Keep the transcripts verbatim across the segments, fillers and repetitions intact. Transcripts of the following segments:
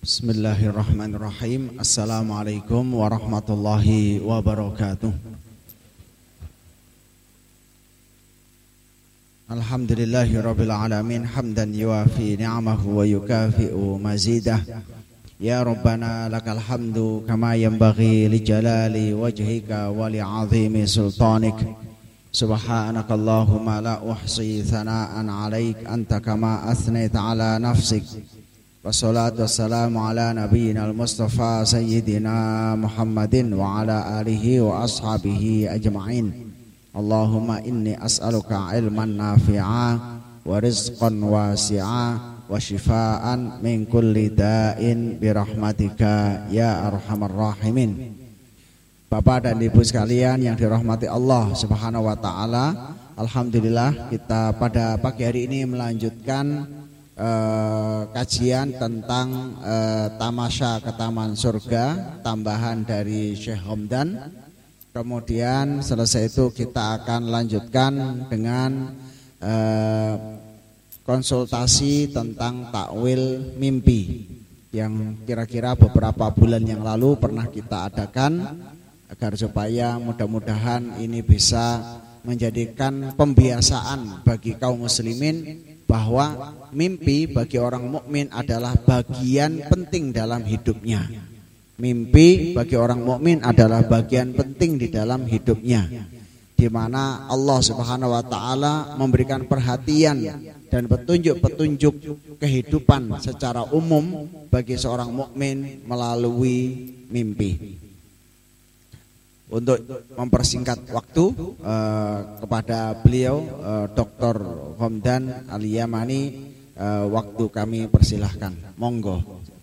Bismillahirrahmanirrahim. Assalamualaikum warahmatullahi wabarakatuh. Alhamdulillahi rabbil alamin, hamdan yuafi ni'amahu wa yukafi'u mazidah. Ya Rabbana lakal hamdu kama yanbaghi li jalali wajhika wa li 'azimi sultanik. Subhanakallahumma la uhsi thana'an 'alaik anta kama athnaita 'ala nafsik. Wassalatu wassalamu ala nabiyyina al-mustafa sayyidina Muhammadin wa ala alihi wa ashabihi ajma'in. Allahumma inni as'aluka ilman nafi'a wa rizqan wasi'a wa shifaan min kulli da'in birahmatika ya arhamar rahimin. Bapak dan Ibu sekalian yang dirahmati Allah Subhanahu wa taala, alhamdulillah kita pada pagi hari ini melanjutkan Uh, kajian tentang uh, Tamasya ke Taman Surga, tambahan dari Syekh Hamdan. Kemudian selesai itu kita akan lanjutkan dengan uh, konsultasi tentang takwil mimpi yang kira-kira beberapa bulan yang lalu pernah kita adakan, agar supaya mudah-mudahan ini bisa menjadikan pembiasaan bagi kaum muslimin bahwa mimpi bagi orang mukmin adalah bagian penting dalam hidupnya. Mimpi bagi orang mukmin adalah bagian penting di dalam hidupnya, di mana Allah Subhanahu wa taala memberikan perhatian dan petunjuk-petunjuk kehidupan secara umum bagi seorang mukmin melalui mimpi. Untuk mempersingkat waktu eh, kepada beliau eh, Doktor Hamdan Al-Yamani, eh, waktu kami persilahkan. Monggo.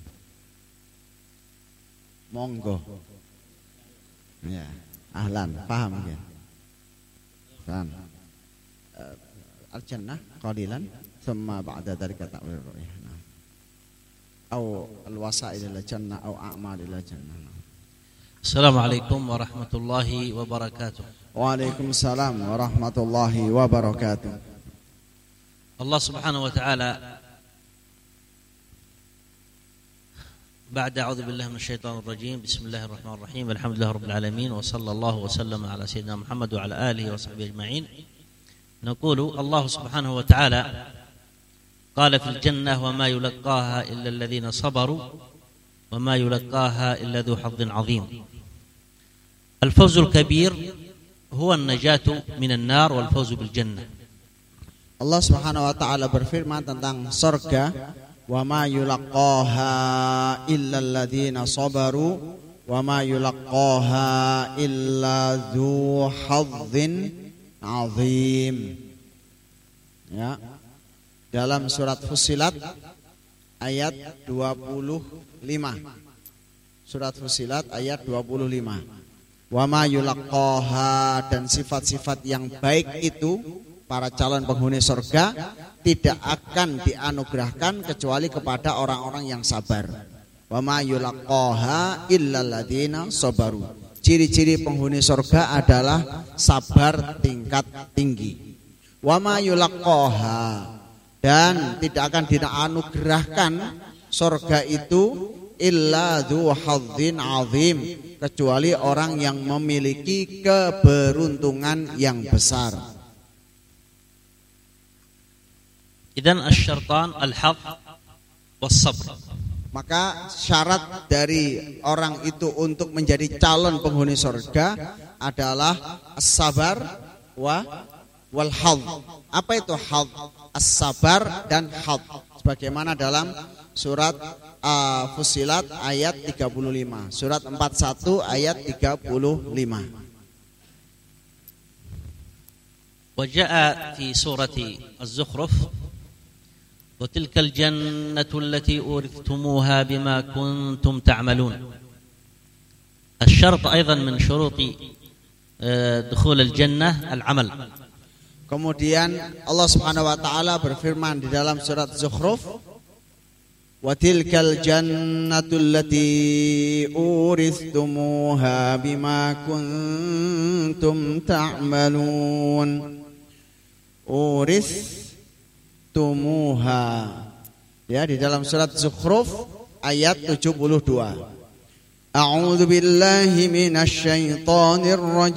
Monggo. Ya, ahlan, paham ya. Dan eh, al-jannah qalilan thumma ba'da dzalika ta'wil ru'yah. Au al-wasa'il ila jannah au a'mal ila jannah. Assalamualaikum warahmatullahi wabarakatuh. Waalaikumsalam warahmatullahi wabarakatuh. Allah subhanahu wa ta'ala بعد أعوذ بالله من الشيطان الرجيم بسم الله الرحمن الرحيم الحمد لله رب العالمين وصلى الله وسلم على سيدنا محمد وعلى آله وصحبه أجمعين. نقول الله سبحانه وتعالى قال في الجنة وما يلقاها إلا الذين صبروا وما يلقاها إلا ذو حظ عظيم. الفوز الكبير هو النجاة من النار والفوز بالجنة. Allah Subhanahu wa taala berfirman tentang surga, wa ma yulaqaha illa alladzina sabaru wa ma yulaqaha illa dzu hadzin azim. Ya. Dalam surat Fussilat ayat dua puluh lima. Surat Fussilat ayat dua puluh lima. Wa ma yulaqaha, dan sifat-sifat yang baik itu para calon penghuni surga tidak akan dianugerahkan kecuali kepada orang-orang yang sabar. Wa ma yulaqaha illal ladzina sabaru. Ciri-ciri penghuni surga adalah sabar tingkat tinggi. Wa ma yulaqaha, dan tidak akan dianugerahkan surga itu illa dzu hadzin azim, kecuali orang yang memiliki keberuntungan yang besar. Idzan asy-syartan al-hadz was-sabr. Maka syarat dari orang itu untuk menjadi calon penghuni surga adalah as-sabar wa wal hadz. Apa itu hadz? As-sabar dan hadz. Sebagaimana dalam surat uh, Fussilat ayat tiga puluh lima, surat empat puluh satu ayat tiga puluh lima. Wa jaa fi surati Az-Zukhruf wa tilkal jannatu allati urithumuha bima kuntum ta'malun. الشرط أيضا من شروط دخول الجنة العمل. Kemudian Allah Subhanahu wa taala berfirman di dalam surat Zukhruf, wa tilkal jannatul lati urithumuha bima kuntum ta'malun. Urith tumuha. Ya, di dalam surat Zukhruf ayat tujuh puluh dua. A'udzu billahi minasy syaithanir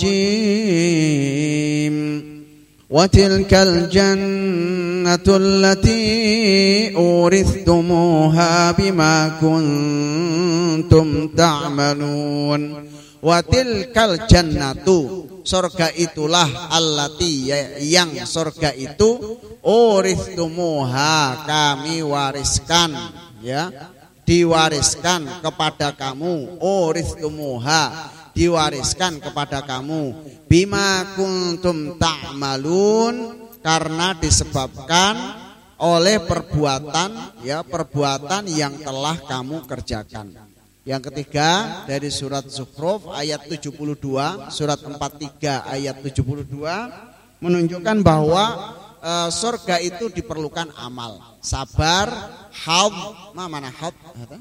rajim. Wa tilkal jannatu allati urithumuha bima kuntum ta'malun. Wa tilkal jannatu, surga itulah allati, yang surga itu urithumuha, kami wariskan, ya, diwariskan kepada kamu. Urithumuha, diwariskan kepada kamu. Bima kuntum ta'malun, karena disebabkan oleh perbuatan, ya, perbuatan yang telah kamu kerjakan. Yang ketiga dari surat Zukhruf ayat tujuh puluh dua, surat empat puluh tiga ayat tujuh puluh dua menunjukkan bahwa e, surga itu diperlukan amal, sabar, haud, mana haud?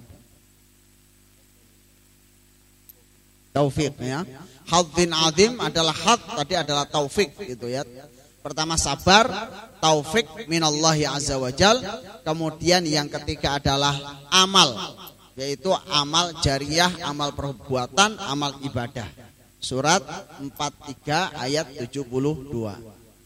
Taufik, ya. Haudzin azim adalah haud, tadi adalah taufik gitu ya. Pertama sabar, taufik minallahi azza wajal, kemudian yang ketiga adalah amal, yaitu amal jariyah, amal perbuatan, amal ibadah. Surat empat puluh tiga ayat tujuh puluh dua.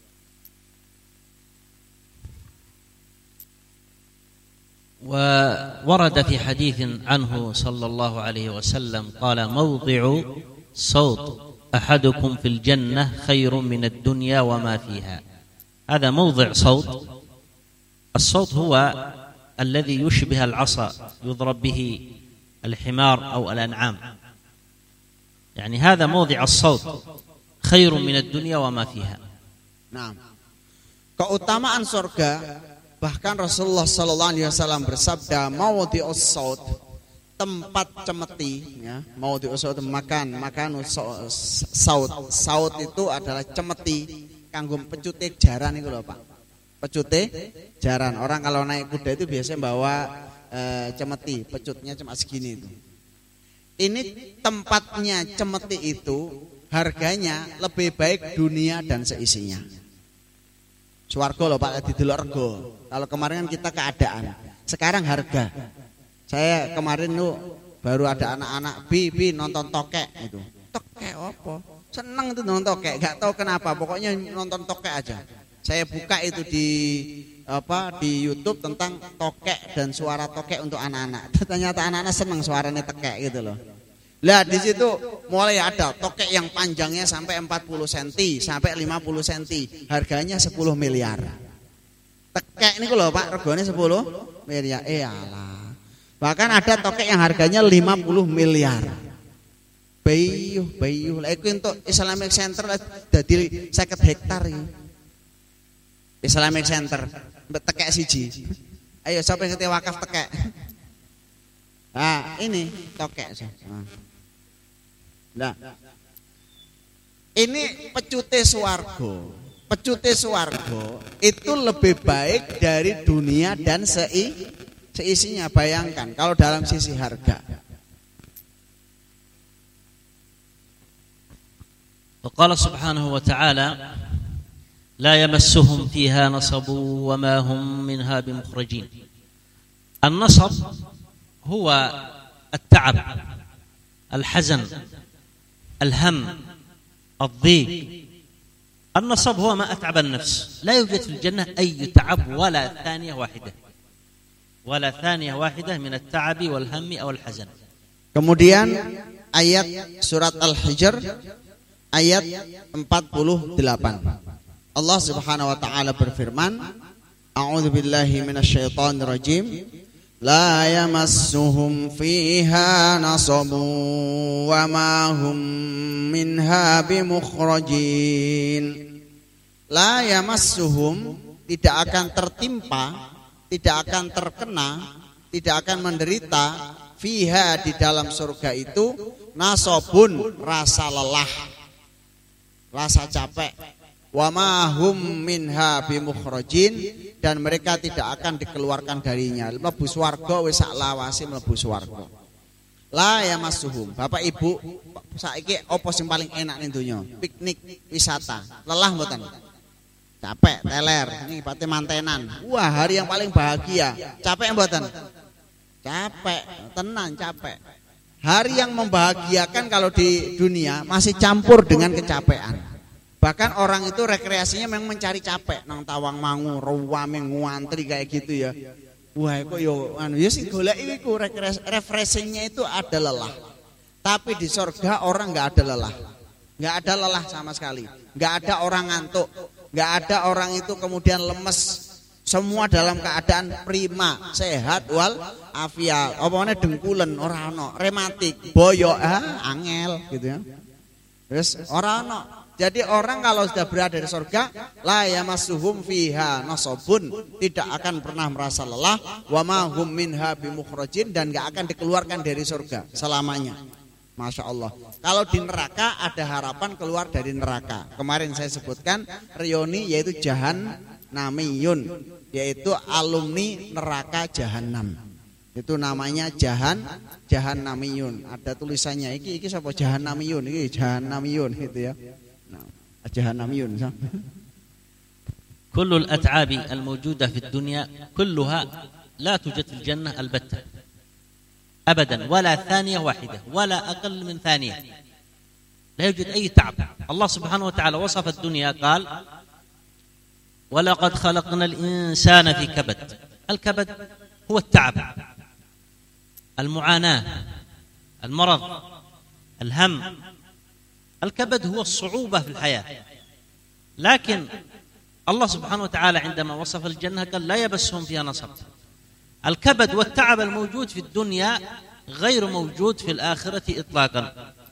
وورد في حديث عنه صلى الله عليه وسلم قال موضع صوت أحدكم في الجنة خير من الدنيا وما فيها. هذا موضع صوت. الصوت هو الذي يشبه العصا يضرب به الحمار أو الأنعام، يعني هذا موضع الصوت خير من الدنيا وما فيها. Nah, keutamaan surga, bahkan Rasulullah Sallallahu Alaihi Wasallam bersabda, mawadhi'us saut, tempat cemeti, ya, mawadhi'us saut, makan, makan saut, saut itu adalah cemeti, kanggo pecute jaran itu loh Pak. Pecute jaran. Orang kalau naik kuda itu biasanya bawa e, cemeti, pecutnya cuma segini itu. Ini tempatnya cemeti itu harganya lebih baik dunia dan seisinya. Swarga loh Pak, di delok rego. Kalau kemarin kan kita keadaan, sekarang harga. Saya kemarin tuh baru ada anak-anak bi bi nonton tokek itu. Tokek apa? Seneng tuh nonton tokek, gak tahu kenapa, pokoknya nonton tokek aja. Saya buka itu di apa di YouTube tentang tokek dan suara tokek untuk anak-anak. Ternyata anak-anak senang suaranya tokek gitu loh. Lah di situ mulai ada tokek yang panjangnya sampai empat puluh sentimeter sampai lima puluh sentimeter, harganya sepuluh miliar. Tokek ini loh Pak, regane sepuluh miliar. Eh alah. Bahkan ada tokek yang harganya lima puluh miliar. Bayuh, bayuh. Lah iku untuk Islamic Center dadi seket hektar iki. Islamic Center tekek siji. Ayo siapa yang ngerti wakaf tekek? Nah, ini tokek. Nah. Ini pecute swarga. Pecute swarga itu lebih baik dari dunia dan sei, seisinya. Bayangkan kalau dalam sisi harga. وقال سبحانه وتعالى لا يمسهم فيها نصب وما هم منها بمخرجين. النصب هو التعب، الحزن، الهم، الضيق. النصب هو ما أتعب النفس. لا يوجد في الجنة أي تعب ولا ثانية واحدة ولا ثانية واحدة من التعب والهم أو الحزن. Kemudian ayat surat Al-Hijr ayat empat puluh delapan. Allah Subhanahu wa taala berfirman, A'udzu billahi minasyaitonir rajim. La yamassuhum fiha nasabun wa ma hum minha bimukhrajin. La yamassuhum, tidak akan tertimpa, tidak akan terkena, tidak akan menderita fiha, di dalam surga itu, nasabun, rasa lelah, rasa capek, wa ma hum minha bimukhrajin, dan mereka tidak akan dikeluarkan darinya. Mlebu swarga wis sak lawase mlebu swarga. La yamassuhum. Bapak Ibu, saiki apa sing paling enak ning donya? Piknik, wisata. Lelah mboten? Capek, teler, ini pate mantenan. Wah, hari yang paling bahagia. Capek mboten? Capek, tenang capek. Hari yang membahagiakan kalau di dunia masih campur dengan kecapean. Bahkan orang itu rekreasinya memang mencari capek, nang Tawang Mangu, ruwame ngantri kayak gitu ya. Wah, kok yo anu ya sing golek iku refreshingnya itu ada lelah. Tapi di surga orang enggak ada lelah. Enggak ada lelah sama sekali. Enggak ada orang ngantuk, enggak ada orang itu kemudian lemes. Semua dalam keadaan prima, sehat wal afiat. Opone dengkulen ora ana, rematik, boyo ah angel gitu ya. Terus ora ana. Jadi orang kalau sudah berada di surga, la yamassuhum fiha nasabun, tidak akan pernah merasa lelah, wa ma hum minha bimukhrajin, dan enggak akan dikeluarkan dari surga selamanya. Masya Allah. Kalau di neraka ada harapan keluar dari neraka. Kemarin saya sebutkan reuni yaitu jahannamiyun, yaitu alumni neraka jahanam. Itu namanya jahan jahannamiyun. Ada tulisannya iki iki sapa jahannamiyun, iki jahannamiyun gitu ya. Nah, jahannamiyun. كل الأتعاب الموجودة في الدنيا كلها لا توجد في الجنة البتة أبدا، ولا ثانية واحدة ولا أقل من ثانية، لا يوجد أي تعب. الله سبحانه وتعالى وصف الدنيا قال ولقد خلقنا الإنسان في كبد. الكبد هو التعب، المعاناة، المرض، الهم. الكبد هو الصعوبة في الحياة. لكن الله سبحانه وتعالى عندما وصف الجنة قال لا يبسهم فيها نصب. الكبد والتعب الموجود في الدنيا غير موجود في الآخرة إطلاقا.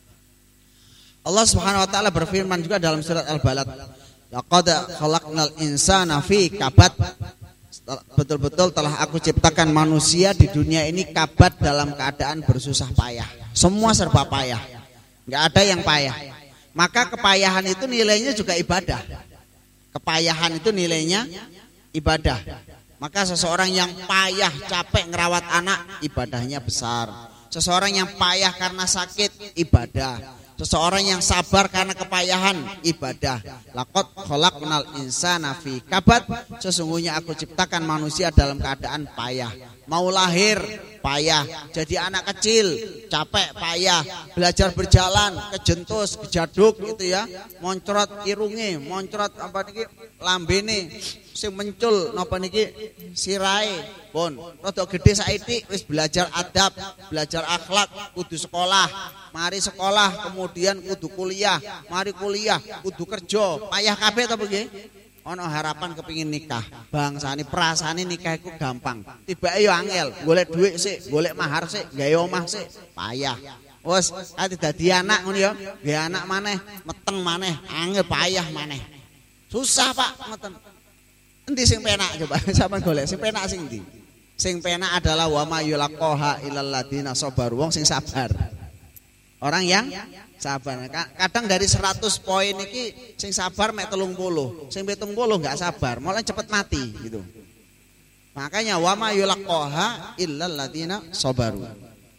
Allah Subhanahu wa taala berfirman juga dalam surat Al-Balad, laqad khalaqnal insana fi kabad. Betul-betul telah aku ciptakan manusia di dunia ini kabad, dalam keadaan bersusah payah. Semua serba payah, nggak ada yang payah. Maka kepayahan itu nilainya juga ibadah. Kepayahan itu nilainya ibadah. Maka seseorang yang payah capek ngerawat anak, ibadahnya besar. Seseorang yang payah karena sakit, ibadah. Seseorang yang sabar karena kepayahan, ibadah. Laqad khalaqnal insana fi kabad. Sesungguhnya aku ciptakan manusia dalam keadaan payah. Mau lahir payah, jadi anak kecil capek payah, belajar berjalan kejentus kejaduk gitu ya, moncrot irunge, moncrot apa niki lambene, sing mencul napa niki sirahe pun rada gedhe saiki wis belajar adab, belajar akhlak, kudu sekolah, mari sekolah kemudian kudu kuliah, mari kuliah kudu kerja, payah kabeh ta nggih. Ono harapan kepingin nikah, bangsane perasaane nikah iku gampang, tibake yo angel, golek dhuwit sik, golek mahar sik, gawe omah sik, payah. Wes ati dadi anak ngono yo, gawe anak maneh, meteng maneh, angel payah maneh. Susah Pak, ngoten. Endi sing penak coba sampean golek sing penak sing ndi? Sing penak adalah wa ma yulaqaha illal ladina sabaru, wong sing sabar. Orang yang sabar. Kadang dari seratus poin iki sing sabar mek telung puluh, sing pitung puluh enggak sabar, malah cepet mati gitu. Makanya wa ma yulaqaha illal ladina sabaru.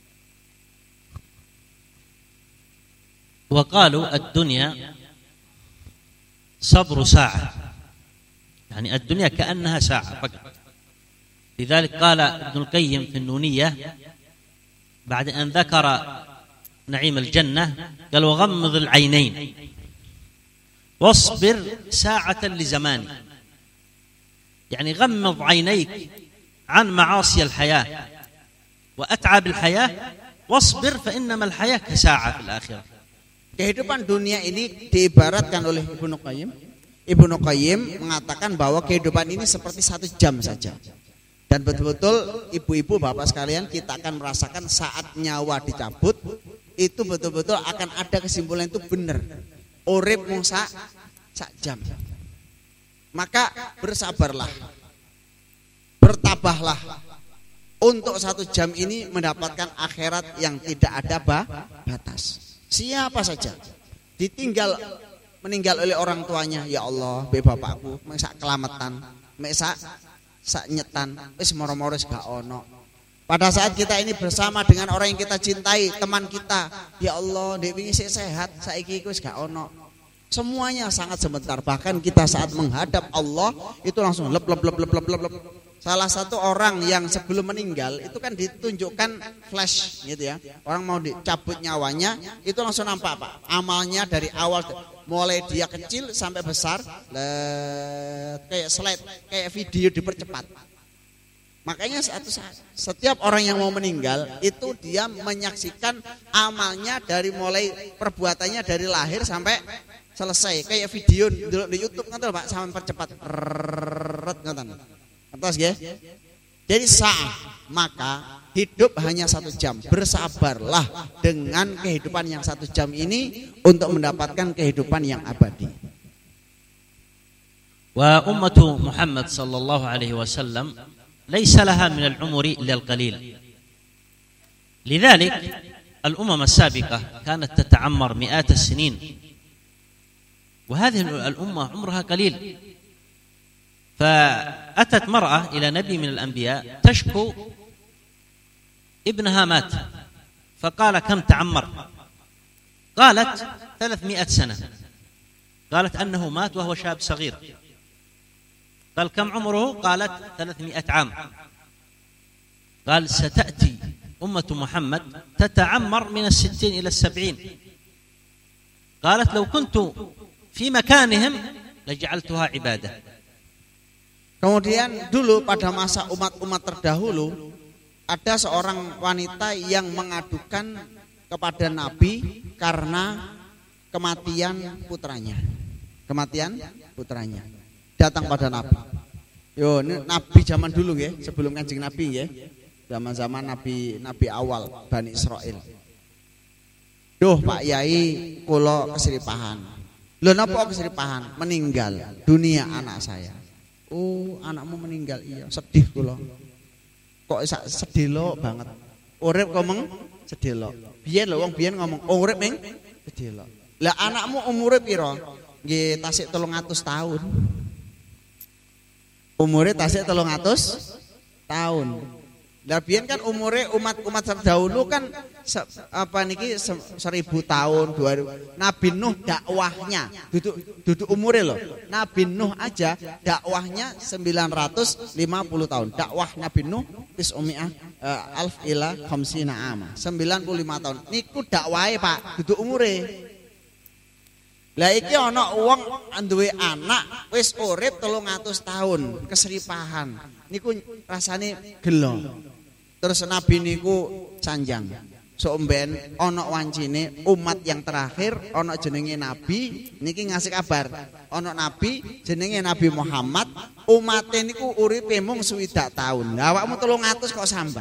Wa qalu ad-dunya sabru sa'ah. Yani ad-dunya ka'annaha sa'ah faqat. لذلك قال ابن القيم في النونية بعد أن ذكر نعيم الجنة قال وغمض العينين واصبر ساعة لزمان. يعني غمض عينيك عن معاصي الحياة وأتعب الحياة واصبر فإنما الحياة كساعة في الآخرة. Kehidupan dunia ini diibaratkan oleh Ibnu Qayyim. Ibnu Qayyim mengatakan bahwa kehidupan ini seperti satu jam saja. Dan betul-betul ibu-ibu bapak sekalian, kita akan merasakan saat nyawa dicabut itu betul-betul akan ada kesimpulan itu benar. Urip mung sak sak jam. Maka bersabarlah, bertabahlah untuk satu jam ini mendapatkan akhirat yang tidak ada batas. Siapa saja ditinggal meninggal oleh orang tuanya, ya Allah, be bapakku mek sak kelametan, mek sak sak nyetan, wis moro-moro gak ono. Pada saat kita ini bersama dengan orang yang kita cintai, teman kita, ya Allah, dek wingi sik sehat, saiki iku wis gak ono. Semuanya sangat sebentar. Bahkan kita saat menghadap Allah itu langsung lep lep lep lep lep lep. salah satu orang yang sebelum meninggal itu kan ditunjukkan flash gitu ya. Orang mau dicabut nyawanya itu langsung nampak Pak. Amalnya dari awal mulai dia kecil sampai besar, let, kayak slide, kayak video dipercepat. Makanya satu saat, setiap orang yang mau meninggal itu dia menyaksikan amalnya dari mulai perbuatannya dari lahir sampai selesai, kayak video di YouTube kan Pak, sampai percepat. Atas ya. Jadi sah, maka hidup hanya satu jam. Bersabarlah dengan kehidupan yang satu jam ini untuk mendapatkan kehidupan yang abadi. Wa ummatu Muhammad sallallahu alaihi wasallam laysa laha min al-umri illa al-qalil. Lidzalik al-umam as-sabiqah kanat tata'ammar mi'at as-sinin. Wa hadhihi al-ummah umruha qalil. فأتت مرأة إلى نبي من الأنبياء تشكو ابنها مات فقال كم تعمر؟ قالت ثلاثمائة سنة. قالت أنه مات وهو شاب صغير. قال كم عمره؟ قالت ثلاثمائة عام. قال ستأتي أمة محمد تتعمر من الستين إلى السبعين. قالت لو كنت في مكانهم لجعلتها عبادة. Kemudian dulu pada masa umat-umat terdahulu ada seorang wanita yang mengadukan kepada Nabi karena kematian putranya. Kematian putranya. Datang pada Nabi. Yo, ini Nabi zaman dulu ya, sebelum Kanjeng Nabi ya. Zaman-zaman Nabi Nabi awal Bani Israil. Duh Pak Yai, kula keseripahan. Lho napa keseripahan? Meninggal dunia anak saya. Oh, anakmu meninggal, iya, sedih kula. Kok sedih lo banget. Urip kok meng sedih lo. Biyen lho wong biyen ngomong urip meng sedih lo. Lah anakmu umure pira? Nggih tasik telung atus tahun. Umure tasik telung atus tahun. Lah biyen kan umure umat-umat terdahulu kan se, apa niki se, seribu tahun, dua ribu. Nabi Nuh dakwahnya duduk duduk umure loh. Nabi Nuh aja dakwahnya sembilan ratus lima puluh tahun. Dakwah Nabi Nuh tis'umi'ah uh, alf ila khamsina ama. sembilan puluh lima tahun. Niku dakwahe Pak, duduk umure. Lah iki ana wong duwe anak wis urip telung atus tahun, keseripahan. Niku rasane gelo. Terus Nabi niku sanjang. Somben ana wancine umat yang terakhir ana jenenge Nabi niki ngasih kabar. Ana Nabi jenenge Nabi Muhammad, umate niku uripe mung swidak taun. Lah awakmu telung atus kok sambat.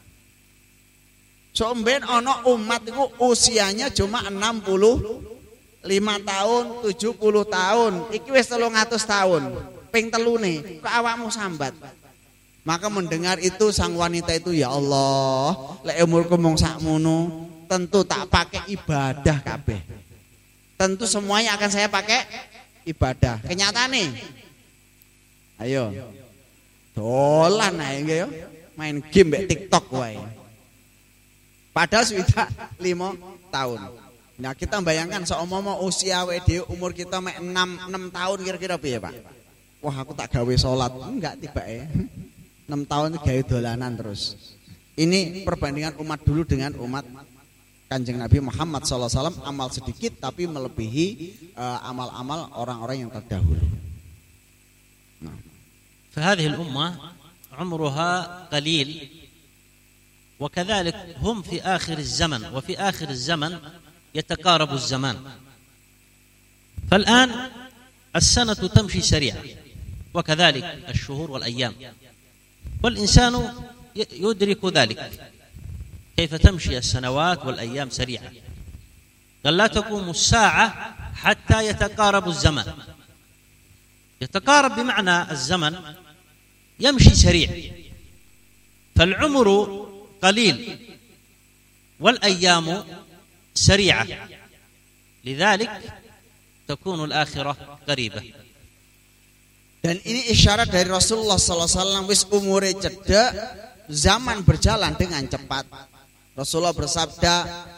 Somben ana umat niku usianya cuma enam puluh lima tahun, tujuh puluh tahun. Iki wis telung atus tahun. Ping telune kok awakmu sambat. Maka mendengar itu sang wanita itu, ya Allah, lek umurku mung sakmono, tentu tak pakai ibadah kabeh. Tentu semuanya akan saya pakai ibadah. Kenyataane. Ayo. Dolan ae nggih yo. Main game mbek TikTok wae. Padahal sudah lima tahun. Nah, kita bayangkan seumpama usia awake dhewe umur kita mek enam, enam tahun kira-kira piye, Pak? Wah, aku tak gawe salat. Enggak tibake. enam tahun gawe dolanan terus. Ini perbandingan umat dulu dengan umat Kanjeng Nabi Muhammad sallallahu alaihi wasallam, amal sedikit tapi melebihi uh, amal-amal orang-orang yang terdahulu. Nah. فهذه الأمة عمرها قليل وكذلك هم في آخر الزمن وفي آخر الزمن يتقارب الزمان. فالآن السنة تمشي سريعا وكذلك الشهور والأيام. والإنسان يدرك ذلك كيف تمشي السنوات والأيام سريعا. قال لا تقوم الساعة حتى يتقارب الزمن. يتقارب بمعنى الزمن يمشي سريع. فالعمر قليل والأيام سريعة لذلك تكون الآخرة قريبة. Dan ini isyarat dari Rasulullah sallallahu alaihi wasallam, wis umure cedek, zaman berjalan dengan cepat. Rasulullah bersabda,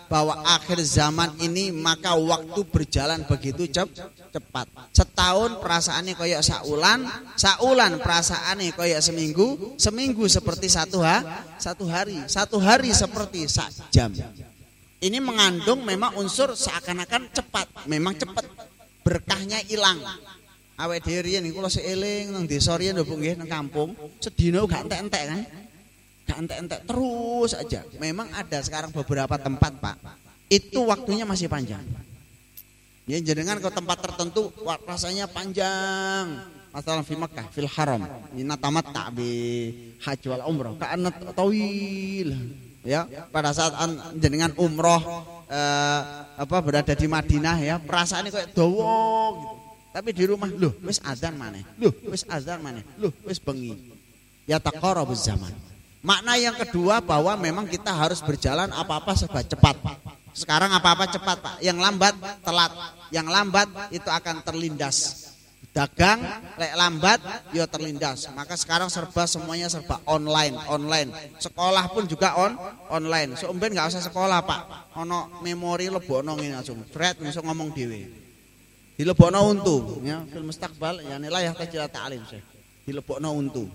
bahwa akhir zaman ini maka waktu berjalan begitu cep, cepat. Setahun perasaannya koyok saulan, saulan perasaannya koyok seminggu, seminggu seperti satu ha, satu hari, satu hari seperti sak jam. Ini mengandung memang unsur seakan-akan cepat, memang cepat, berkahnya hilang. Awake dhewe riyen niku kula seeling nang desa riyen lho Bu nggih nang kampung, sedina gak entek-entek kan. Gak entek-entek terus aja. Memang ada sekarang beberapa tempat Pak, itu waktunya masih panjang. Ya jenengan ke tempat tertentu rasanya panjang. Masalah fi Makkah, fil Haram, inna tamatta bi haji wal umrah, ka'anna tawil. Ya, pada saat jenengan umroh eh, apa berada di Madinah ya, perasaannya kayak dawa gitu. Tapi di rumah, loh, wis azan maneh. Loh, wis azan maneh. Loh, wis bengi. Ya taqarrabuz zaman. Makna yang kedua bahwa memang kita harus berjalan apa-apa serba cepat. Sekarang apa-apa cepat Pak. Yang lambat telat. Yang lambat itu akan terlindas. Dagang lek lambat ya terlindas. Maka sekarang serba semuanya serba online, online. Sekolah pun juga on online. So umben enggak usah sekolah Pak. Ono memori lebokno ngene langsung. Fred iso ngomong dhewe. Dilebokno untu ya fil mustaqbal ya nilai tajil ta'lim Syekh. Dilebokno untu.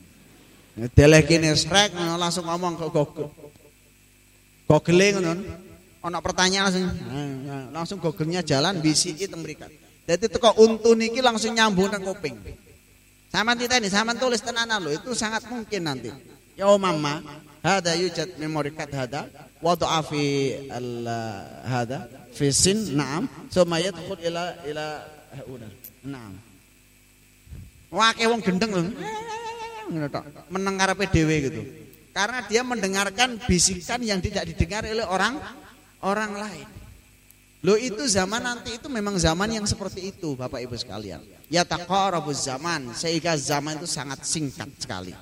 Deleh kene srek langsung ngomong ke Google. Google ngono. Ana pertanyaan langsung langsung Google-nya jalan bisiki teng mrikat. Dadi teko untu niki langsung nyambung nang kuping. Sampeyan titeni, sampeyan tulis tenanan lho, itu sangat mungkin nanti. Ya mama, hada yujad memory card hada wada'a fi al hada fi sin na'am, summa yadkhul ila ila hauna. Na'am. Wake wong gendeng lho. Meneng karepe dhewe gitu. Karena dia mendengarkan bisikan yang tidak didengar oleh orang orang lain. Loh itu zaman nanti itu memang zaman yang seperti itu Bapak Ibu sekalian. Ya taqarrabuz zaman, sehingga zaman itu sangat singkat sekali.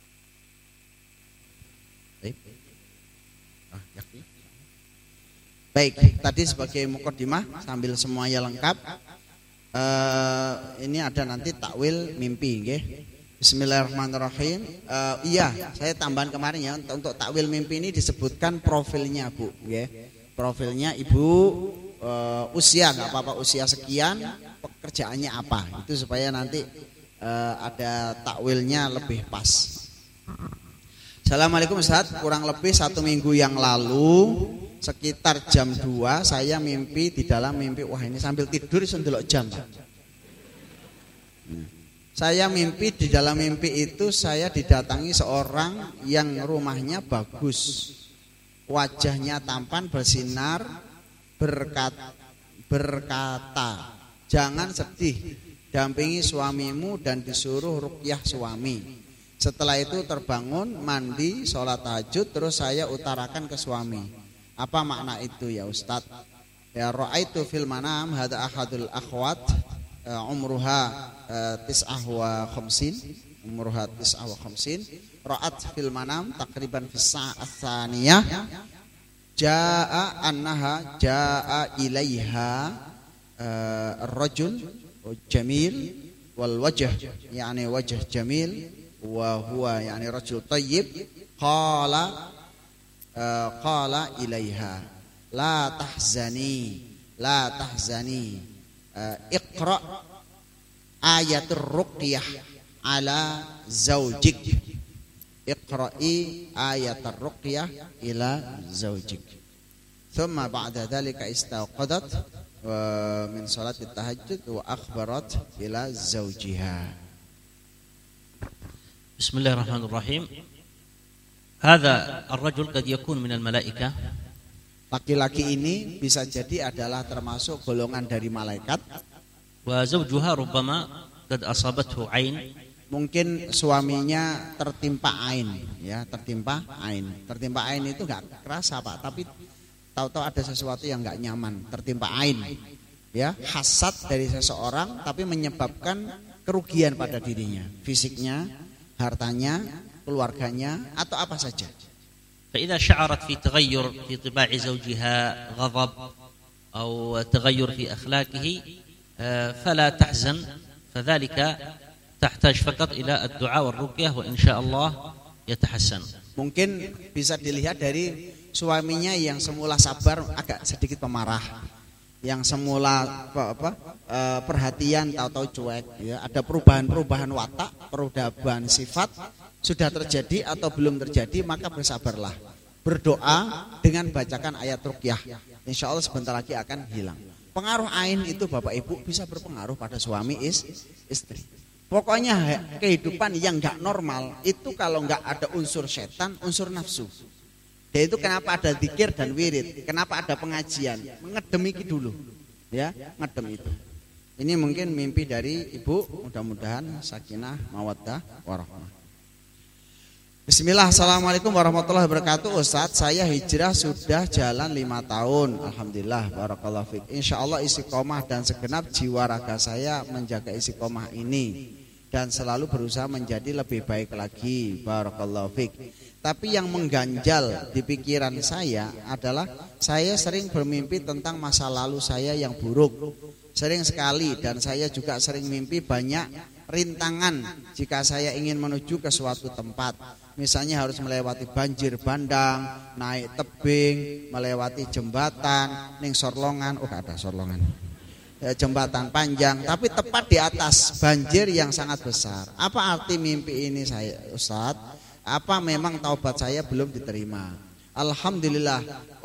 Baik, tadi sebagai mukadimah sambil semuanya lengkap. Uh, ini ada nanti takwil mimpi nggih. Bismillahirrahmanirrahim. Uh, iya, saya tambahan kemarin ya untuk takwil mimpi ini disebutkan profilnya Bu, ya. Profilnya Ibu uh, usia nggak apa-apa usia sekian, pekerjaannya apa, itu supaya nanti uh, ada takwilnya lebih pas. Assalamualaikum Ustaz, kurang lebih satu minggu yang lalu sekitar jam dua saya mimpi di dalam mimpi, wah ini sambil tidur iso ndelok jam. Saya mimpi di dalam mimpi itu saya didatangi seorang yang rumahnya bagus, wajahnya tampan bersinar, berkata, berkata jangan sedih, dampingi suamimu dan disuruh ruqyah suami. Setelah itu terbangun, mandi, sholat tahajud, terus saya utarakan ke suami. Apa makna itu ya Ustaz? Ya ra'aitu fil manam hada ahadul akhwat umruha tis'ah wa khamsin umruha tis'ah wa khamsin ra'at fil manam takriban fis sa'ah tsaniyah jaa annaha jaa ilaiha ar-rajul jamil wal wajh yani wajh jamil wa huwa yani rajul tayyib qala qala ilaiha la tahzani la tahzani iqra ayatul ruqyah ala zaujik iqra'i ayatul ruqyah ila zaujik thumma ba'da dhalika istaqadat wa min salat tahajjud wa akhbarat ila zaujiha. Bismillahirrahmanirrahim. Hadha ar-rajul qad yakun min al-malaikah. Laki-laki ini bisa jadi adalah termasuk golongan dari malaikat. Wa zawjuha rubbama qad asabathu ain. Mungkin suaminya tertimpa ain, ya, tertimpa ain. Tertimpa ain itu enggak kerasa, Pak, tapi tahu-tahu ada sesuatu yang enggak nyaman, tertimpa ain. Ya, hasad dari seseorang tapi menyebabkan kerugian pada dirinya, fisiknya, hartanya, keluarganya atau apa saja. فإذا شعرت في تغير في طباع زوجها غضب أو تغير في أخلاقه فلا تحزن فذلك تحتاج فقط إلى الدعاء والرقية وإن شاء الله يتحسن. Mungkin bisa dilihat dari suaminya yang semula sabar agak sedikit pemarah, yang semula apa, apa e, perhatian tahu-tahu cuek, ya. Ada perubahan-perubahan watak, perubahan sifat sudah terjadi atau belum terjadi, maka bersabarlah. Berdoa dengan bacakan ayat ruqyah. Insya Allah sebentar lagi akan hilang. Pengaruh ain itu Bapak Ibu bisa berpengaruh pada suami is, istri. Pokoknya kehidupan yang enggak normal itu kalau enggak ada unsur setan, unsur nafsu. Dan itu kenapa ada zikir dan wirid, kenapa ada pengajian, ngedem iki dulu. Ya, ngedem itu. Ini mungkin mimpi dari Ibu, mudah-mudahan sakinah, mawaddah, warahmah. Bismillah, assalamualaikum warahmatullahi wabarakatuh. Ustadz, saya hijrah sudah jalan lima tahun. Alhamdulillah, barakallahu fiik. Insya Allah istiqomah dan segenap jiwa raga saya menjaga istiqomah ini dan selalu berusaha menjadi lebih baik lagi. Barakallahu fiik. Tapi yang mengganjal di pikiran saya adalah saya sering bermimpi tentang masa lalu saya yang buruk. Sering sekali, dan saya juga sering mimpi banyak rintangan jika saya ingin menuju ke suatu tempat. Misalnya harus melewati banjir bandang, naik tebing, melewati jembatan, ning sorlongan, oh ada sorlongan, ya, jembatan panjang, tapi tepat di atas banjir yang sangat besar. Apa arti mimpi ini saya, Ustadz? Apa memang taubat saya belum diterima? Alhamdulillah,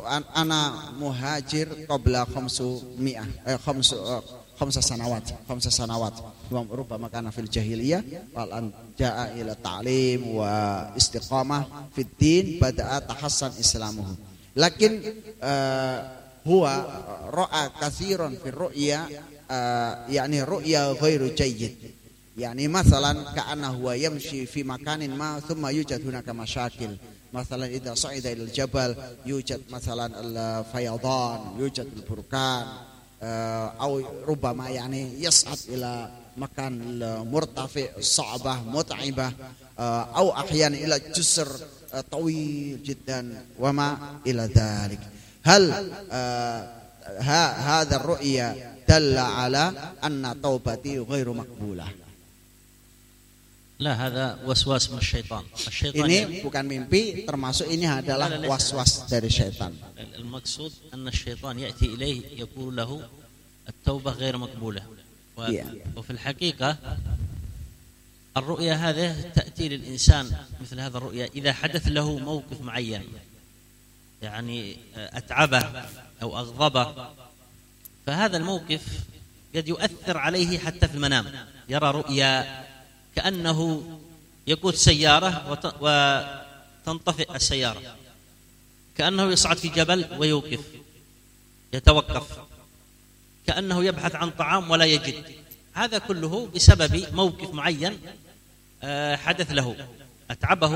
ana muhajir qabla khamsu mi'ah, eh, khamsu, eh, khamsa sanawat, khamsa sanawat. Rubama kana fil jahiliyah wal an jaa ila ta'lim wa istiqamah fid din bada'a tahassan islamuhu. Lakin uh, huwa ra'a katsiran fi ru'ya, uh, yani ru'ya ghairu jayyid. Yani masalan ka'anna huwa yamshi fi makanin ma thumma yujad hunaka masyakil. Masalan idza sa'ida ila al-jabal yujad masalan al-fayadan, yujad al-burkan. Atau rubama yani yas'ad ila makan murtafi sa'bah mut'ibah atau ahyan ila jusr tawil jiddan wa ma ila dhalik. Hal hadha ar-ru'ya dalla ala anna taubati ghairu maqbulah. La, hadha waswas min syaitan. Ini bukan mimpi, termasuk ini adalah waswas dari syaitan. Al-maqsud anna syaitan ya'ti ilaihi yaqulu lahu at-taubah ghairu maqbulah. وفي الحقيقة الرؤيا هذه تأتي للإنسان مثل هذا الرؤيا إذا حدث له موقف معين، يعني أتعبه أو أغضبه، فهذا الموقف قد يؤثر عليه حتى في المنام. يرى رؤيا كأنه يقود سيارة وتنطفئ السيارة، كأنه يصعد في جبل ويوقف يتوقف، كأنه يبحث عن طعام ولا يجد. هذا كله بسبب موقف معين حدث له أتعبه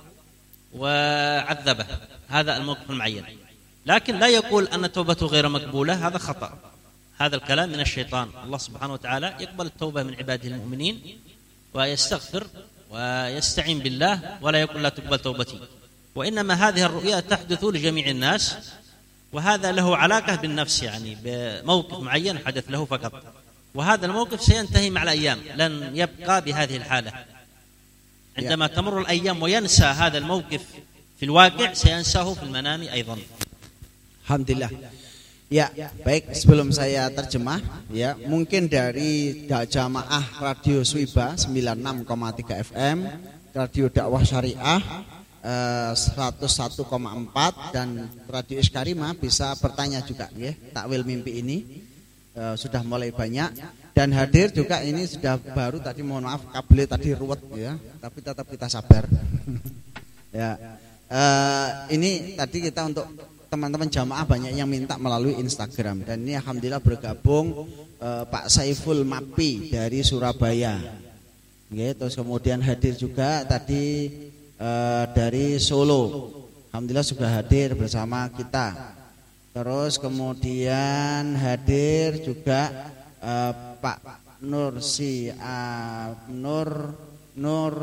وعذبه، هذا الموقف المعين. لكن لا يقول أن توبته غير مقبولة، هذا خطأ، هذا الكلام من الشيطان. الله سبحانه وتعالى يقبل التوبة من عباده المؤمنين ويستغفر ويستعين بالله ولا يقول لا تقبل توبتي. وإنما هذه الرؤيا تحدث لجميع الناس، وهذا له علاقة بالنفس، يعني بموقف معين حدث له فقط، وهذا الموقف سينتهي مع الأيام، لن يبقى بهذه الحالة. عندما تمر الأيام وينسى هذا الموقف في الواقع سينساه في المنام أيضا. Alhamdulillah. Ya, baik, sebelum saya terjemah, ya, mungkin dari jamaah Radio Swiba sembilan puluh enam koma tiga F M, Radio Dakwah Syariah seratus satu koma empat dan Radio Iskarima bisa bertanya juga, ya. Takwil mimpi ini e, sudah mulai banyak, dan hadir juga ini sudah baru tadi, mohon maaf kabel tadi ruwet, ya, tapi tetap kita sabar. Ya, e, ini tadi kita untuk teman-teman jamaah banyak yang minta melalui Instagram, dan ini alhamdulillah bergabung e, Pak Saiful Mapi dari Surabaya, ya, terus kemudian hadir juga tadi Uh, dari Solo, alhamdulillah sudah hadir bersama kita. Terus kemudian hadir juga uh, Pak Nur Si uh, Nur Nur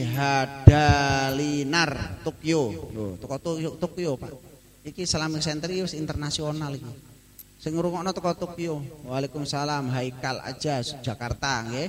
Sihadalinar Tokyo. Loh, toko Tokyo, Tokyo Pak. Iki Islamic Center wis internasional iki. Sing ngrungokno toko Tokyo. Waalaikumsalam, Haikal aja Jakarta nggih.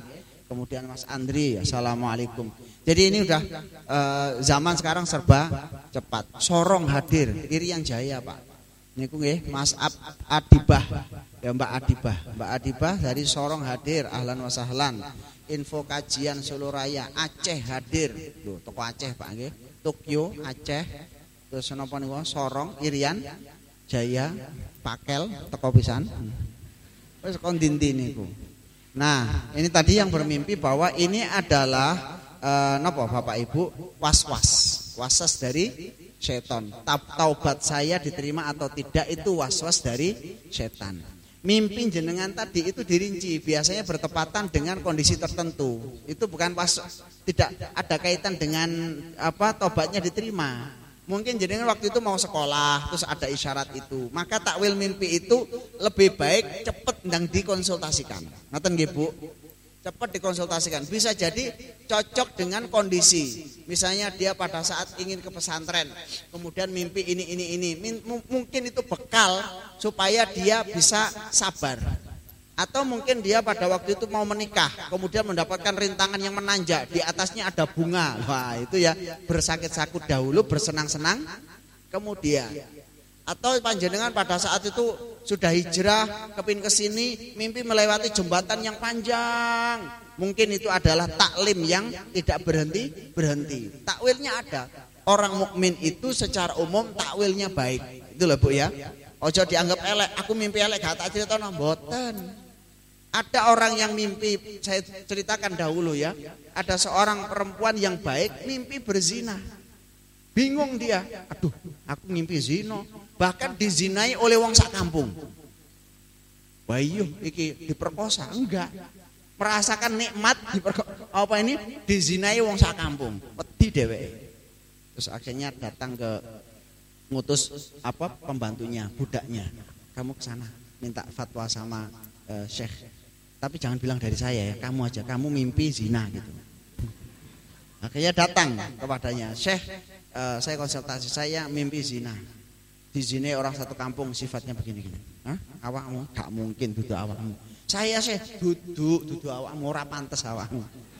Kemudian Mas Andri, assalamualaikum. Jadi ini udah uh, zaman sekarang serba cepat. Sorong hadir, Irian Jaya Pak. Niku nggih Mas Ab Adibah. Ya Mbak Adibah, Mbak Adibah dari Sorong hadir, ahlan wa sahlan. Info kajian Solo Raya Aceh hadir. Loh, toko Aceh Pak nggih. Tokyo Aceh. Terus napa niku Sorong Irian Jaya Pakel teko pisan. Wis kon dinti niku. Nah, ini tadi yang bermimpi bahwa ini adalah eh, napa Bapak Ibu was-was. Was-was dari setan. Taubat saya diterima atau tidak itu was-was dari setan. Mimpi jenengan tadi itu dirinci, biasanya bertepatan dengan kondisi tertentu. Itu bukan pas, tidak ada kaitan dengan apa tobatnya diterima. Mungkin jenengan waktu itu mau sekolah, terus ada isyarat itu. Maka takwil mimpi itu lebih baik cepet ndang dikonsultasikan. Ngoten nggih Bu? Cepat dikonsultasikan. Bisa jadi cocok dengan kondisi. Misalnya dia pada saat ingin ke pesantren, kemudian mimpi ini ini ini. Mungkin itu bekal supaya dia bisa sabar. Atau mungkin dia pada waktu itu mau menikah, kemudian mendapatkan rintangan yang menanjak, di atasnya ada bunga. Wah, itu ya bersakit-sakit dahulu, bersenang-senang kemudian. Atau panjenengan pada saat itu sudah hijrah kepin ke sini, mimpi melewati jembatan yang panjang. Mungkin itu adalah taklim yang tidak berhenti berhenti. Takwilnya ada. Orang mukmin itu secara umum takwilnya baik. Itu loh Bu ya. Ojo dianggap elek. Aku mimpi elek gak tak cerita mboten. Ada orang yang mimpi, saya ceritakan dahulu ya. Ada seorang perempuan yang baik mimpi berzina. Bingung dia. Aduh, aku mimpi zina. Bahkan dizinai oleh wong sak kampung. Bayu iki diperkosa, enggak. Merasakan nikmat apa ini dizinai wong sak kampung. Wedi dheweke. Terus akhirnya datang ke ngutus apa pembantunya, budaknya. Kamu ke sana minta fatwa sama uh, Syekh. Tapi jangan bilang dari saya ya, kamu aja, kamu mimpi zina gitu. Akhirnya datang kepadanya, Syekh, uh, saya konsultasi, saya mimpi zina. Di sini orang satu kampung sifatnya begini-gini. Hah? Awakmu gak mungkin duduk awakmu. Saya sih duduk duduk awakmu ora pantes awakmu.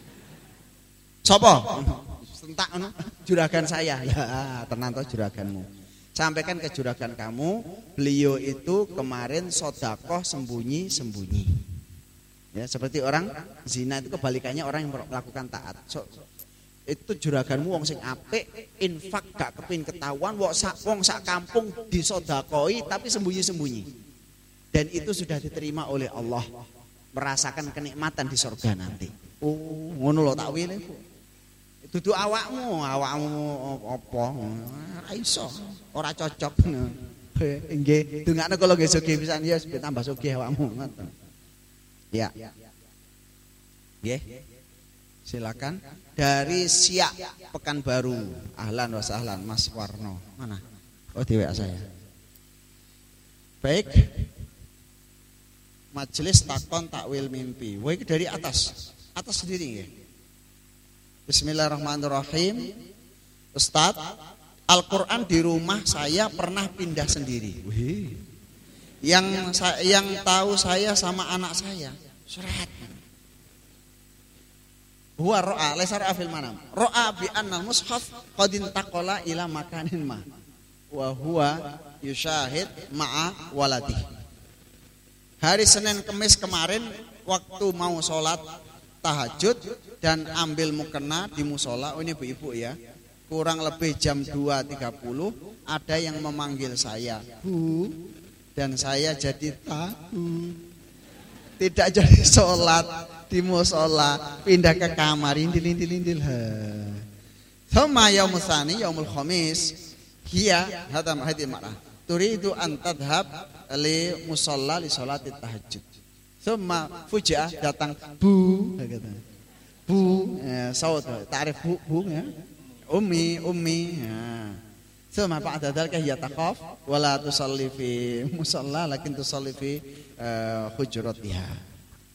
Sopo? Sentak anu juragan saya. Ya, tenan to juraganmu. Sampaikan ke juragan kamu, beliau itu kemarin sedekah sembunyi-sembunyi. Ya, seperti orang zina itu kebalikannya orang yang melakukan taat. So, itu juraganmu wong sing apik, infak gak kepin ketahuan, wong sak wong sak kampung disodakoi tapi sembunyi-sembunyi. Dan itu sudah diterima oleh Allah, merasakan kenikmatan di surga nanti. Oh, ngono lho takwile. Dudu awakmu, awakmu apa? Ora iso, ora cocok. Nggih, dongakno kula nggih sugih pisan ya tambah sugih awakmu ngoten. Ya. Nggih. Silakan. Dari Siak Pekanbaru, ahlan wa sahlan Mas Warno. Mana? Oh di W A saya. Baik. Majelis takon takwil mimpi. Wah ini dari atas, atas sendiri ya. Bismillahirrahmanirrahim. Ustaz, Al-Quran di rumah saya pernah pindah sendiri. Wih. Yang yang tahu saya sama anak saya. Surat. Huwa ro'a, laisa ro'a fil manam. Ro'a bi anna mushaf qad intaqala ila makanin ma. Wa huwa yusyahid ma'a waladi. Hari Senin Kemis kemarin waktu mau sholat tahajud dan ambil mukena di musola. Oh ini ibu-ibu ya. Kurang lebih jam dua tiga puluh ada yang memanggil saya, Bu, dan saya jadi takut. Tidak jadi sholat di musola, pindah ke kamar, indil-indil-indil. Thumma yaumul tsani yaumul khamis hiya hadam hadil mar'ah turidu an tadhhab li musalla li sholati tahajud. Thumma fuji'ah datang Bu, Bu, ya, saud ta'rif Bu, Bu ya. Ummi, ummi. Ya. Thumma ba'da dzalika hiya taqaf wa la tusalli fi musalla lakin tusalli fi hujratiha.